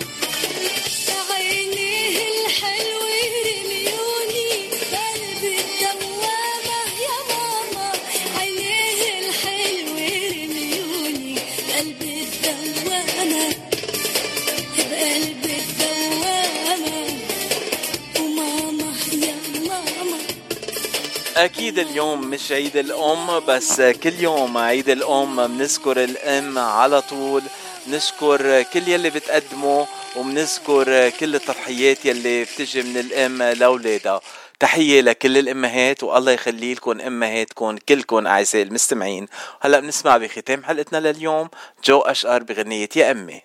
عينيه الحلو يرميوني قلبي الدوامة يا ماما عينيه الحلو يرميوني قلبي الدوامة بقلبي الدوامة وماما يا ماما أكيد اليوم مش عيد الأم، بس كل يوم عيد الأم بنذكر الأم على طول، نشكر كل يلي بتقدمه وبنذكر كل التضحيات يلي بتجي من الأم لأولادها. تحية لكل الأمهات والله يخلي لكم أمهاتكم كلكم أعزائي المستمعين. هلأ بنسمع بختام حلقتنا لليوم جو أشقر بغنية يا أمي.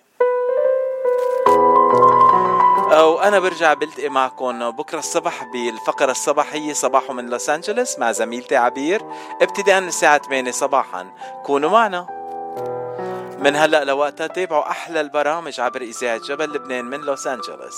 وأنا برجع بلتقي معكم بكرة الصبح بالفقرة الصباحية صباح من لوس أنجلوس مع زميلتي عبير ابتداء من الساعة 8 صباحا. كونوا معنا من هلأ لوقتها. تابعوا أحلى البرامج عبر إذاعة جبل لبنان من لوس أنجلوس.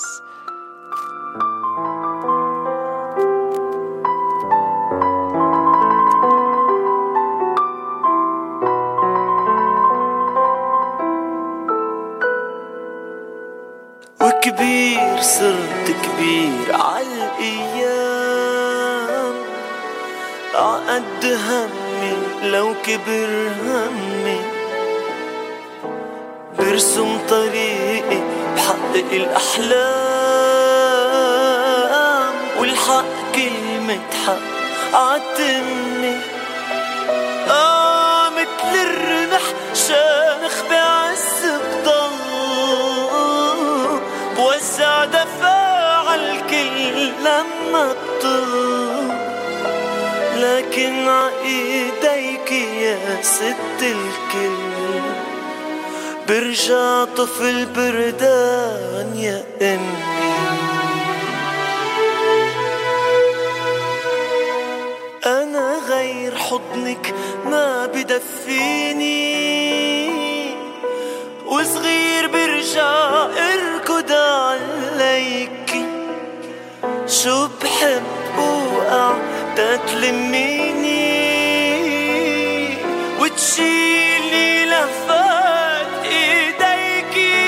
وكبير صرت كبير عالأيام، عقد همي لو كبر همي، برسم طريقي بحقق الأحلام، والحق كلمة حق عتمني. مثل الرمح شامخ بعز بضل، بوزع دفاع الكل لما بطل، لكن عايديك يا ست الكل برجع طفل بردان يا أمي. أنا غير حضنك ما بدفيني، وصغير برجع اركض عليك، شو بحب وقع تتلميني، وتشيلي لهفات ايديكي،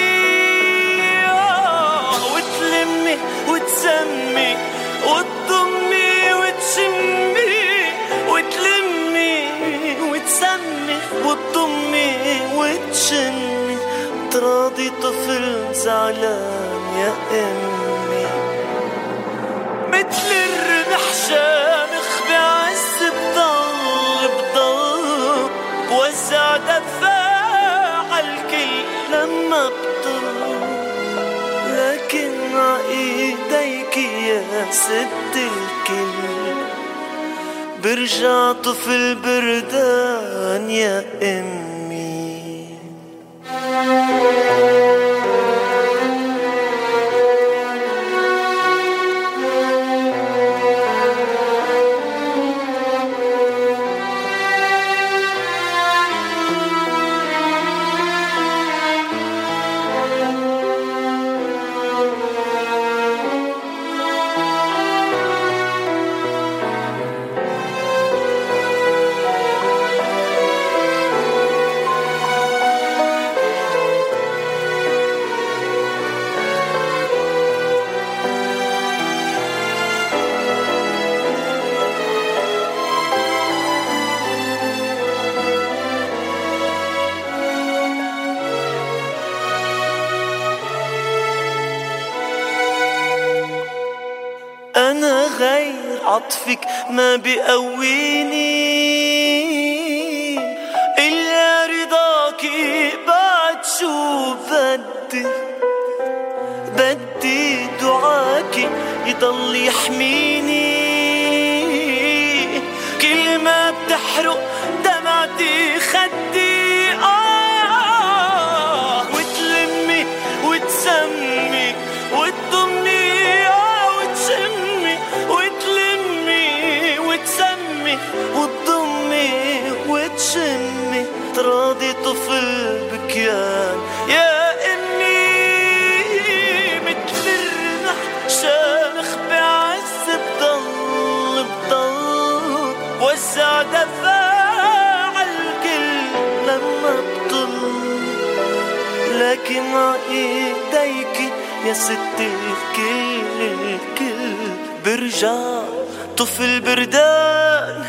وتلمي وتسمي وتضمي وتشمي، وتلمي وتسمي وتضمي وتشمي، تراضي طفل زعلان يا أمي. مثل الرمح شامخ بعز بضل بوزع دفاع الكل لما بطل، لكن عايديك يا ست الكل برجع طفل بردان يا أمي. أنا غير عطفك ما بقويني، إلا رضاكي بعد شو بدي دعاكي يضل يحميني، كل ما بتحرق دمعتي خدي، وتلمي وتسمي وتضمي، وتشمي وتلمي وتسمي وتضمي وتشمي، تراضي طفل بكيان يا أمي. مثل الرمح شامخ بعز بضل وزع دفاع الكل لما بطل، لكن عايديك يا ست الكل برجع طفل بردان